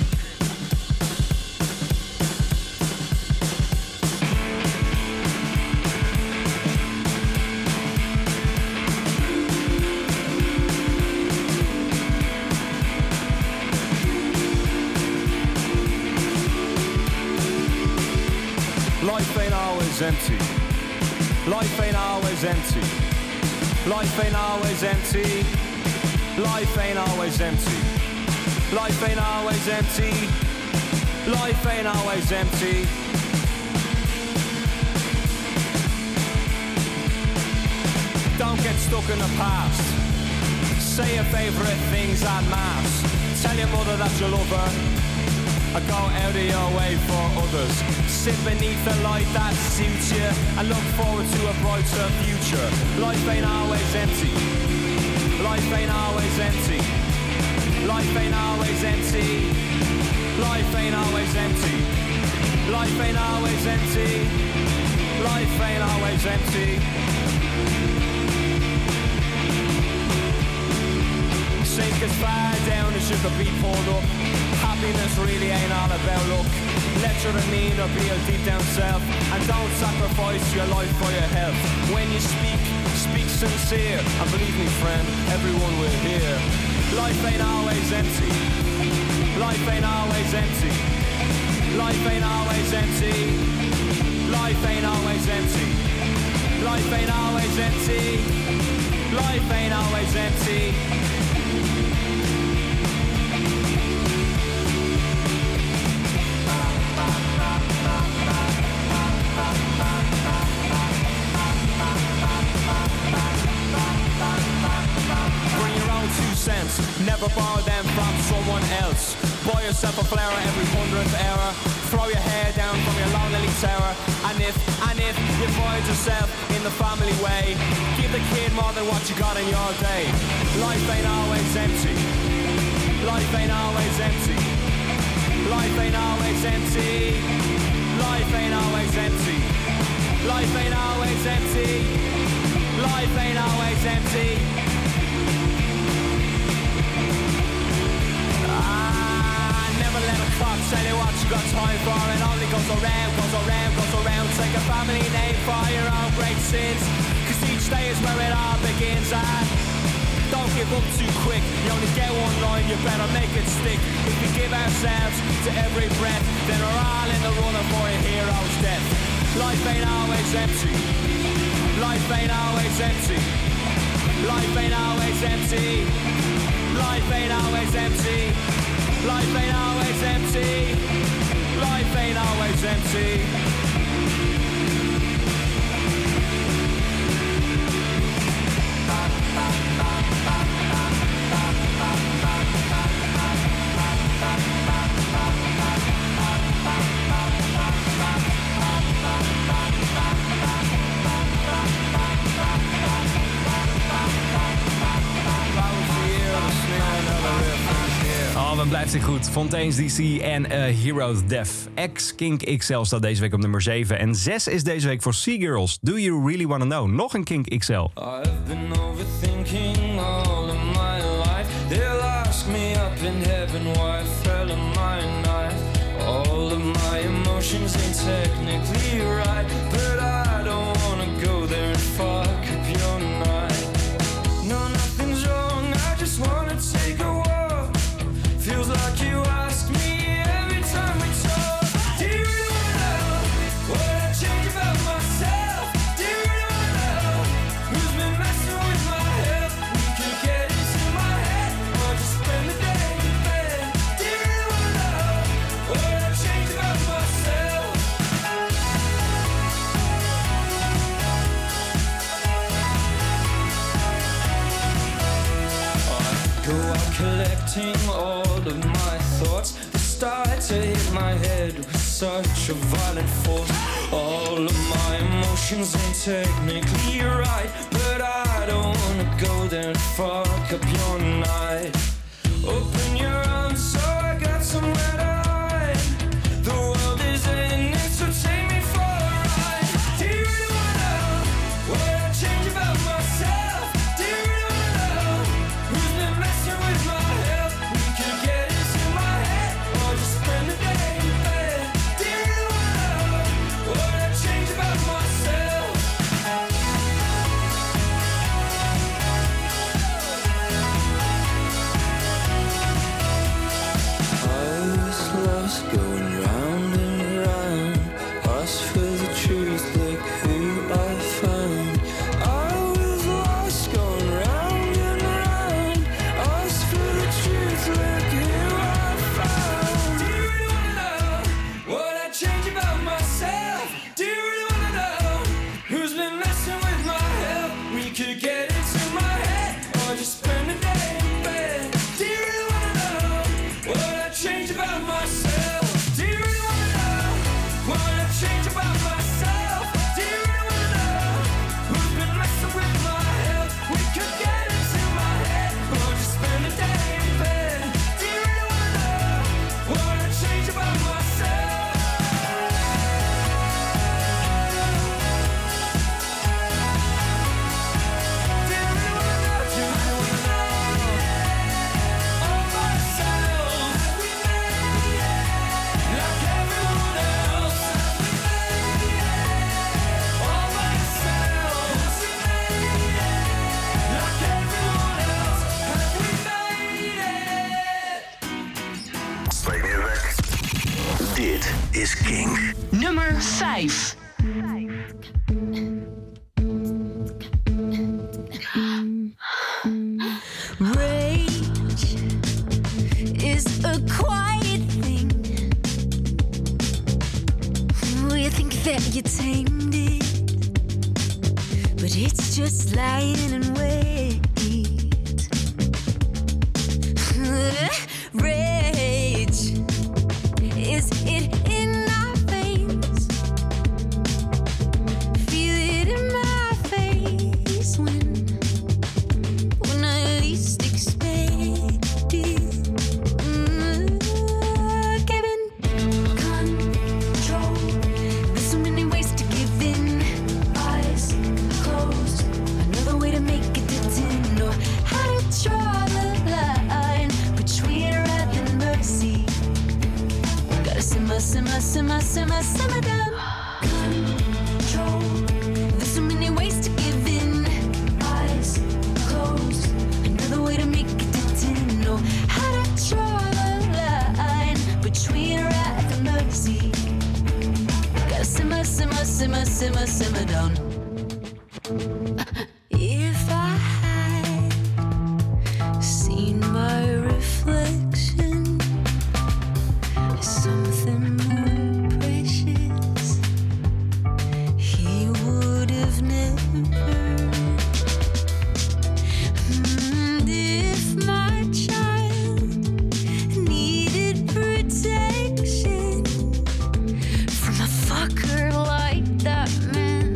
Life ain't always empty. Life ain't always empty. Life ain't always empty. Life ain't always empty. Life ain't always empty. Life ain't always empty. Don't get stuck in the past. Say your favourite things en masse. Tell your mother that you love her. I go out of your way for others. Sit beneath the light that suits you and look forward to a brighter future. Life ain't always empty. Life ain't always empty. Life ain't always empty. Life ain't always empty. Life ain't always empty. Life ain't always empty. Sink as far down as you could be pulled up. Happiness really ain't all about luck. Let your demeanor be your deep down self, and don't sacrifice your life for your health. When you speak, speak sincere, and believe me friend, everyone will hear. Life ain't always empty. Life ain't always empty. Life ain't always empty. Life ain't always empty. Life ain't always empty. Life ain't always empty. Cents. Never borrow them from someone else. Buy yourself a flower every hundredth hour. Throw your hair down from your lonely tower. And if, and if you find yourself in the family way, give the kid more than what you got in your day. Life ain't always empty. Life ain't always empty. Life ain't always empty. Life ain't always empty. Life ain't always empty. Life ain't always empty. Never let a clock tell you what you got time for. It only goes around, goes around, goes around. Take a family name for your own great sins, cause each day is where it all begins. And don't give up too quick. You only get one line, you better make it stick. If we give ourselves to every breath, then we're all in the running for a hero's death. Life ain't always empty. Life ain't always empty. Life ain't always empty. Life ain't always empty. Life ain't always empty. Life ain't always empty. Oh, wat blijft hij goed. Fontaine's D C en uh, Hero's Death. Ex-Kink X L staat deze week op nummer zeven. En zes is deze week voor Sea Girls. Do You Really Wanna Know? Nog een Kink X L. I've been overthinking all of my life. They'll ask me up in heaven why I fell in my knife. All of my emotions ain't technically right, but I don't wanna go there and fuck up your night. No, nothing's wrong, I just wanna take a walk. Feels like you ask me every time we talk. Do you really wanna know what I change about myself? Do you really wanna know who's been messing with my health? We can get into my head or just spend the day in bed. Do you really wanna know what I change about myself? I go out collecting all of my thoughts. They start to hit my head with such a violent force. All of my emotions ain't technically right, but I don't wanna go there and fuck up your night. Open your arms so I got somewhere to hide. The world is ending, so take me for a ride. Do you really wanna know what I change about myself? Do you really wanna know who's been messing with my health? could get into my head or just spend the day in bed. Do you really wanna know what I changed about myself? Do you really wanna know what I changed about myself? Do you really wanna know who's been messing with my health? We could get into my head or just spend the day in bed. Do you really wanna know what I changed about myself? Dit is Kink. Nummer vijf. Rage is a quiet thing. You think that you tamed it, but it's just lying in wait. Rage, is it in our veins? Feel it in my face when, when I least expect it. Mm, Kevin, control. There's so many ways to give in. Eyes closed. Another way to make it didn't know how to draw the line between wrath and mercy. Gotta simmer, simmer, simmer, simmer, simmer down. Control. There's so many ways to give in. Eyes closed. Another way to make it didn't know how to draw the line between wrath and mercy. Gotta simmer, simmer, simmer, simmer, simmer down. If I had seen my reflection as something more precious, he would have never. And if my child needed protection from a fucker like that man,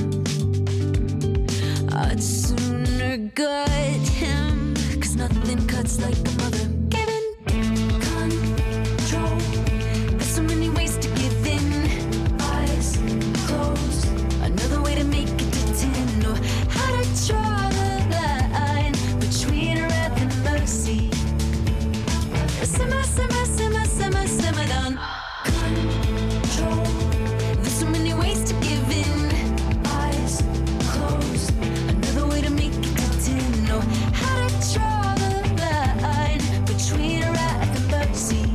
I'd sooner gut him, 'cause nothing cuts like a mother. Given control. There's so many ways to give in. Eyes closed. Another way to make it didn't know how to draw the line between wrath and mercy. Simmer, simmer, simmer, simmer, simmer down. Control. There's so many ways to give in. Eyes closed. Another way to make it didn't know how to draw the line between wrath and mercy.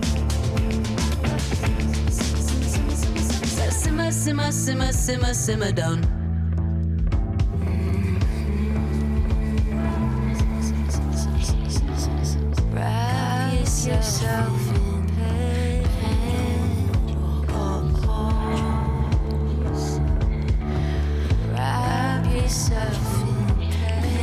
Simmer, simmer, simmer, simmer, simmer down. Wrap yourself in pause. Wrap yourself in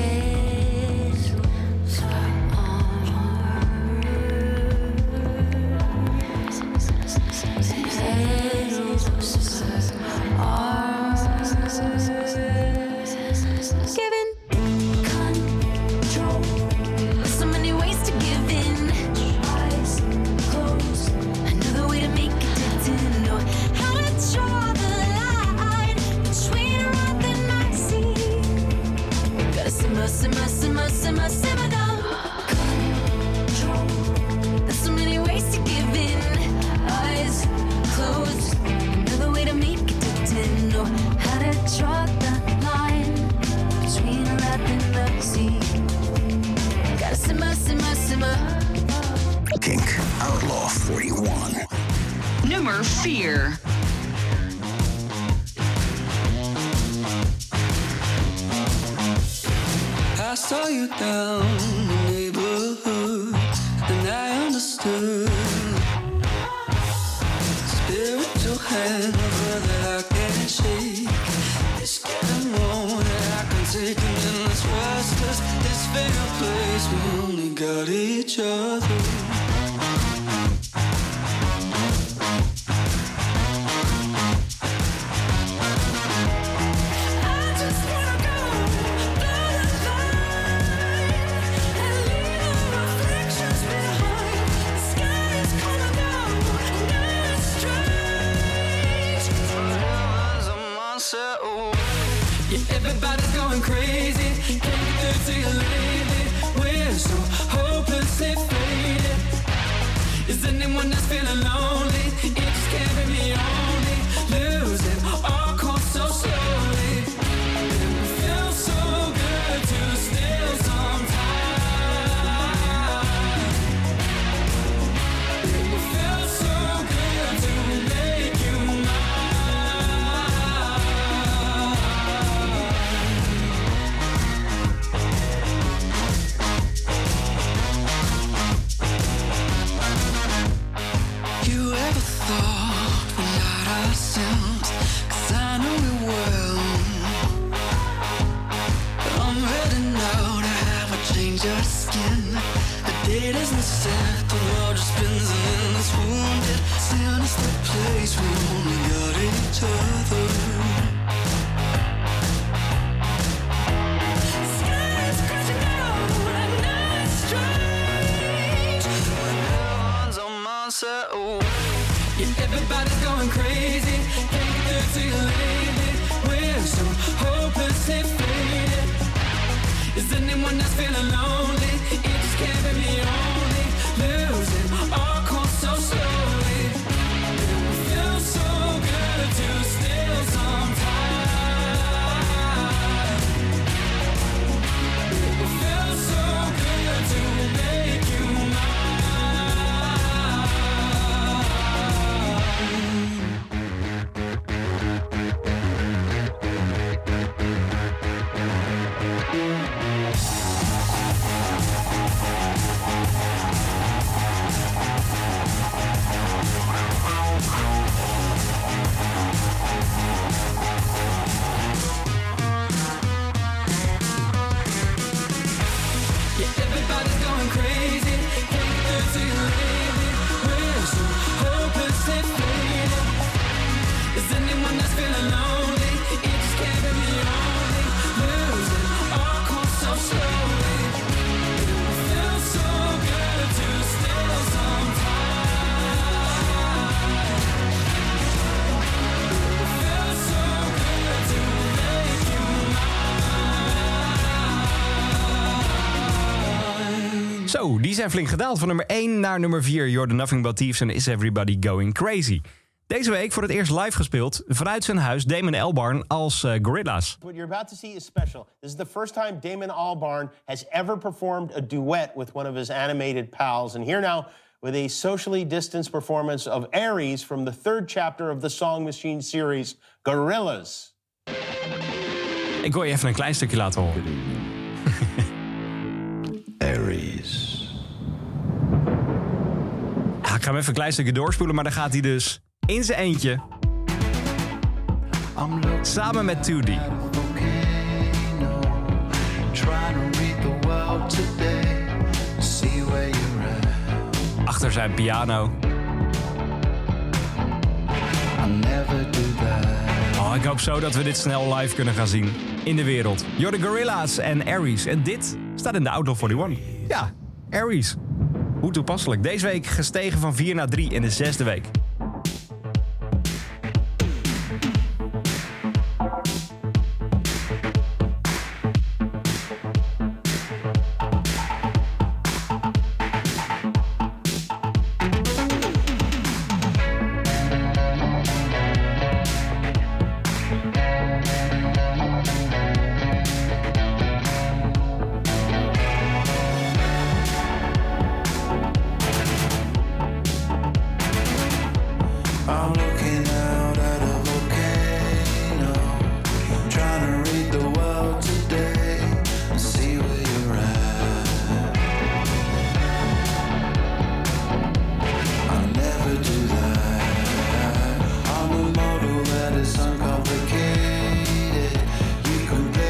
Given control. There's so many ways to give in. Eyes closed. Another way to make it didn't know how to draw the line between wrath and mercy. Gotta simmer, simmer, simmer, simmer, simmer down. Control. There's so many ways to give in. Eyes closed. Another way to make it didn't know how to draw the line between wrath and mercy. Gotta simmer, simmer, simmer. Kink Outlaw forty-one. Nummer vier. I saw you down in the neighborhood, and I understood. Spiritual hangover that I can't shake. It's getting more than I can take, and then this was each other. Everybody's going crazy, can't get through to you lately. We're so hopelessly faded. Is anyone that's feeling lonely? It just can't be me only. Losing our course so slowly. It feels so good to steal some time. It feels so good to make you mine. You ever thought we lied ourselves? 'Cause I know we will. But I'm ready now to have a change of skin. The date isn't set, the world just spins and in this wounded sinister place we only got each other. Skies crashing down and now it's strange when everyone's on my side. Oh. Yeah, everybody's going crazy, can't get through to you lately. We're so hopelessly faded. Is anyone that's feeling lonely? It just can't be me only. Losing our course so slowly. It feels so good to steal some time. It feels so good to make you Yeah, everybody's going crazy, can't get through to you lately. We're so hopelessly faded. Is anyone that's feeling lonely? It just can't be me only. Losing our course so slowly. It feels so good to steal some time. It feels so good to make you Zo, die zijn flink gedaald. Van nummer één naar nummer vier. You're the Nothing But Thieves en Is Everybody Going Crazy. Deze week voor het eerst live gespeeld vanuit zijn huis Damon Albarn als uh, Gorillaz. What you're about to see is special. This is the first time Damon Albarn has ever performed a duet with one of his animated pals. And here now with a socially distanced performance of Aries from the third chapter of the Song Machine series, Gorillaz. Ik wil je even een klein stukje laten horen. Aries. Ja, ik ga hem even een klein stukje doorspoelen, maar dan gaat hij dus in zijn eentje. Samen met two D. Trying to read the world today, see where you're at. Achter zijn piano. I never do that. Oh, ik hoop zo dat we dit snel live kunnen gaan zien in de wereld. You're the Gorillaz en Aries. En dit staat in de Outlaw eenenveertig. Ja, Aries. Hoe toepasselijk. Deze week gestegen van vier naar drie in de zesde week. It's uncomplicated. You can play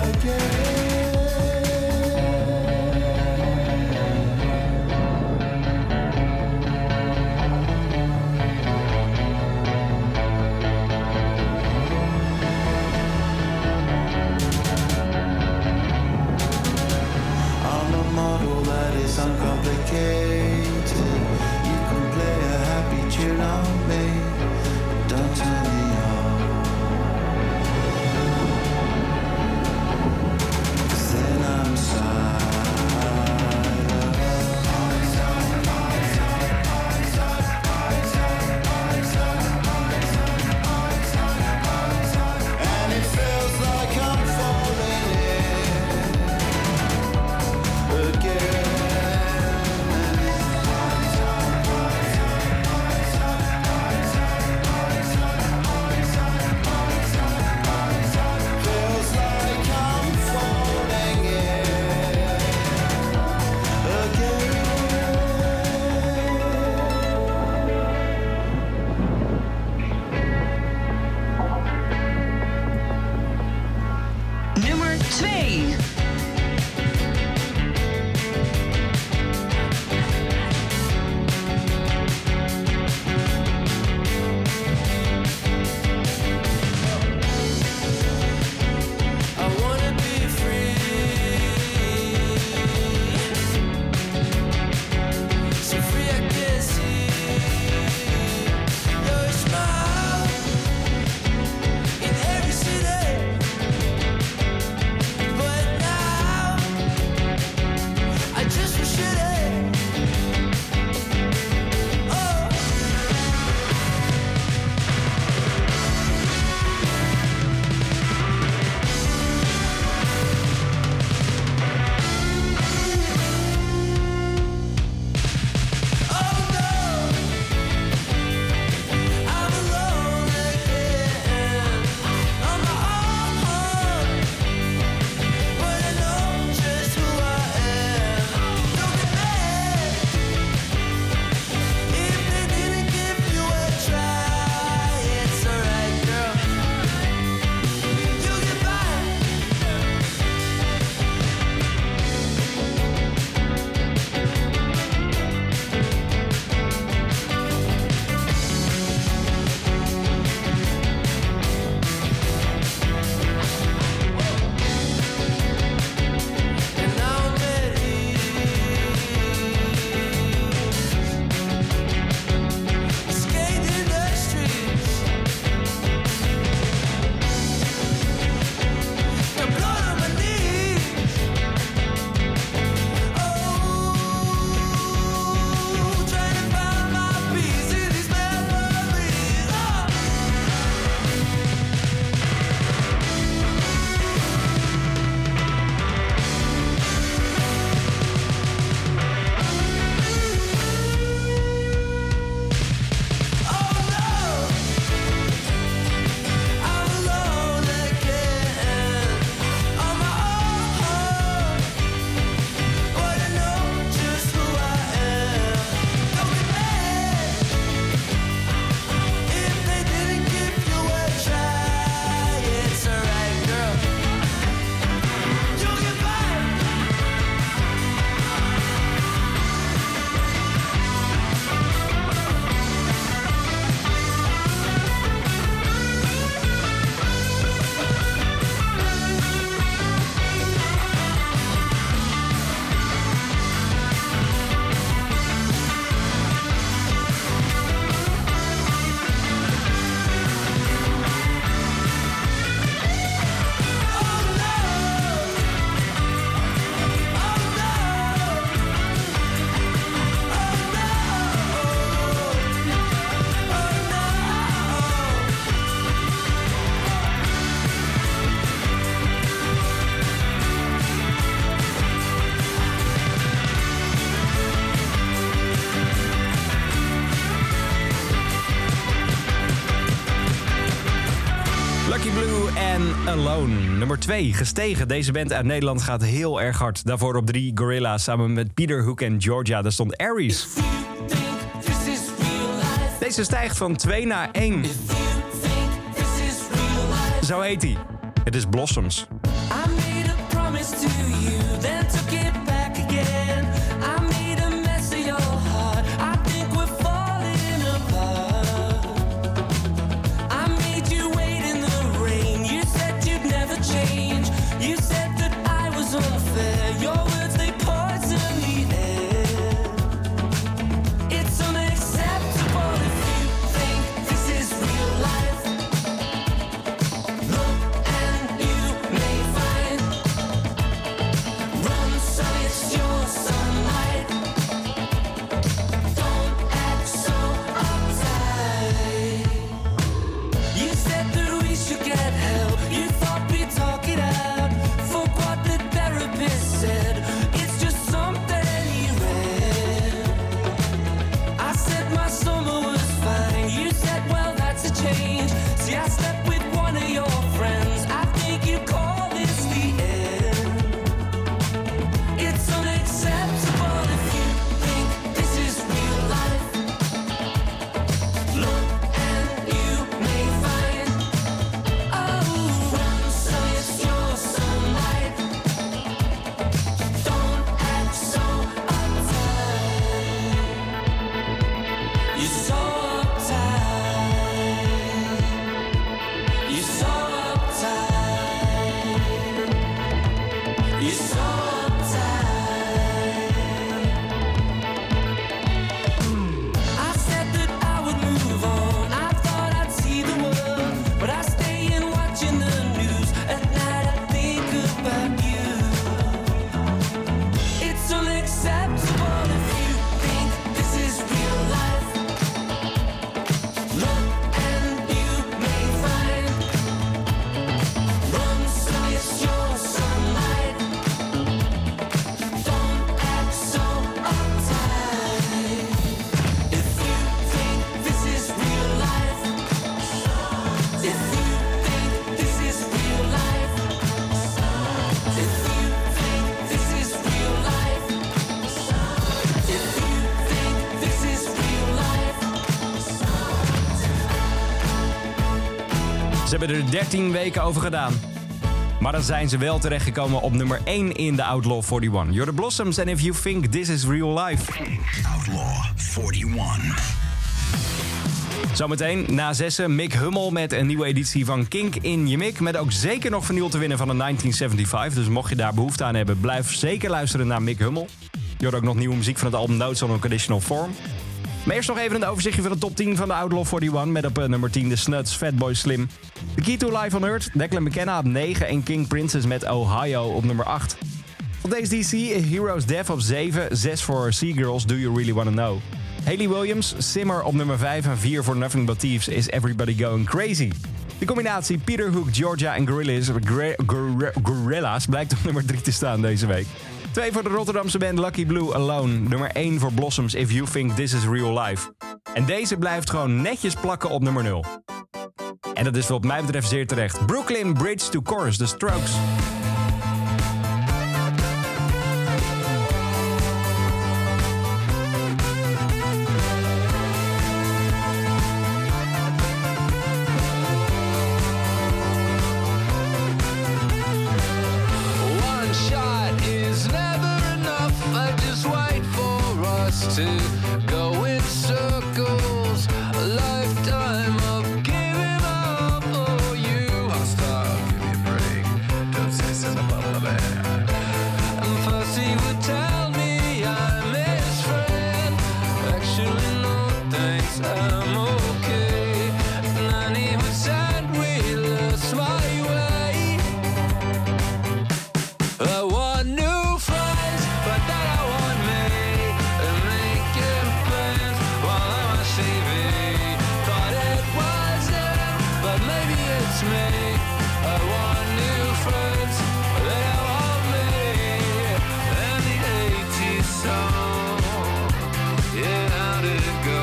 I'm a model that is uncomplicated. You can play a happy tune on me, but don't turn me on. 'Cause then I'm silent. And it feels like I'm falling in again. Feels like I'm falling in again. Nummer twee. I wanna be free, so free I can see your smile in every city. But now I just wish it. Oh. Lucky Blue en Alone. Nummer twee, gestegen. Deze band uit Nederland gaat heel erg hard. Daarvoor op drie Gorilla samen met Peter Hook en Georgia. Daar stond Aries. Deze stijgt van twee naar één. Zo heet hij. Het is Blossoms. I made Ze hebben er dertien weken over gedaan. Maar dan zijn ze wel terechtgekomen op nummer één in de Outlaw eenenveertig. You're the Blossoms and If You Think This Is Real Life. Outlaw eenenveertig. Zometeen na zessen Mick Hummel met een nieuwe editie van Kink in je Mik. Met ook zeker nog vinyl te winnen van een negentien zevenenzeventig. Dus mocht je daar behoefte aan hebben, blijf zeker luisteren naar Mick Hummel. Je hoort ook nog nieuwe muziek van het album Notes on Unconditional Form. Maar eerst nog even een overzichtje van de top tien van de Outlaw eenenveertig. Met op uh, nummer tien de Snuts, Fatboy Slim. The Key to Life on Earth, Declan McKenna op negen. En King Princess met Ohio op nummer acht. Van deze D C, Heroes Death op zeven. zes voor Seagirls, Do You Really Wanna Know. Hayley Williams, Simmer op nummer vijf. En vier voor Nothing But Thieves is Everybody Going Crazy. De combinatie Peter Hook, Georgia en Gorillaz, Gorillaz blijkt op nummer drie te staan deze week. twee voor de Rotterdamse band Lucky Blue, Alone. Nummer één voor Blossoms, If You Think This Is Real Life. En deze blijft gewoon netjes plakken op nummer nul. En dat is wat mij betreft zeer terecht. Brooklyn Bridge to Chorus, The Strokes. One shot is never enough. I just wait for us to go in circles. A lifetime of giving up. Oh, you. I'll stop, give me a break. Don't say something about my bad. And first he would tell me I'm his friend. Actually, no thanks, I'm okay. And then he would send wheelers my way. I want new friends, but then I want me. And making plans while I'm on T V. Thought it was him, but maybe it's me. I want new friends, but then I want me. And the eighties song, yeah, how did it go?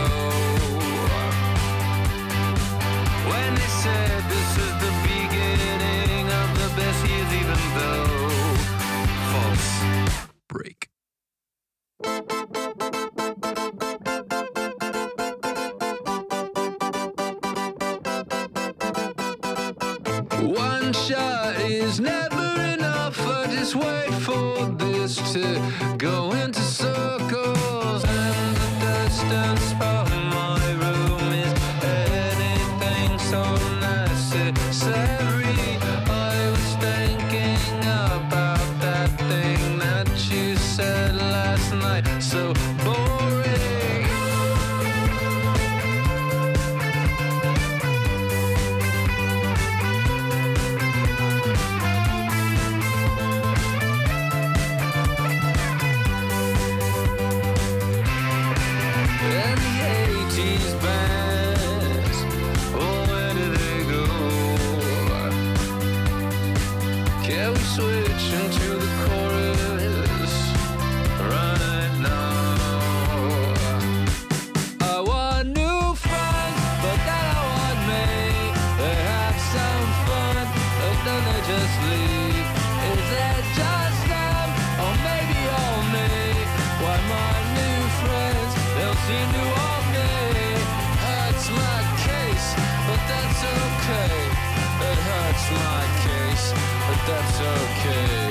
When they said this is the beginning of the best years, even though false break. One shot is never enough. I just wait for this to go into circles. And the distance from my room is anything so necessary. I was thinking about that thing that you said last night. So boring. And the eighties bands, oh, where did they go? Can we switch into the chorus right now? I want new friends, but then I want me. They have some fun, but then they just leave. Is it just them, or maybe all me? Why my new friends, they'll seem to want me. Hurts my case, but that's okay. It hurts my case, but that's okay.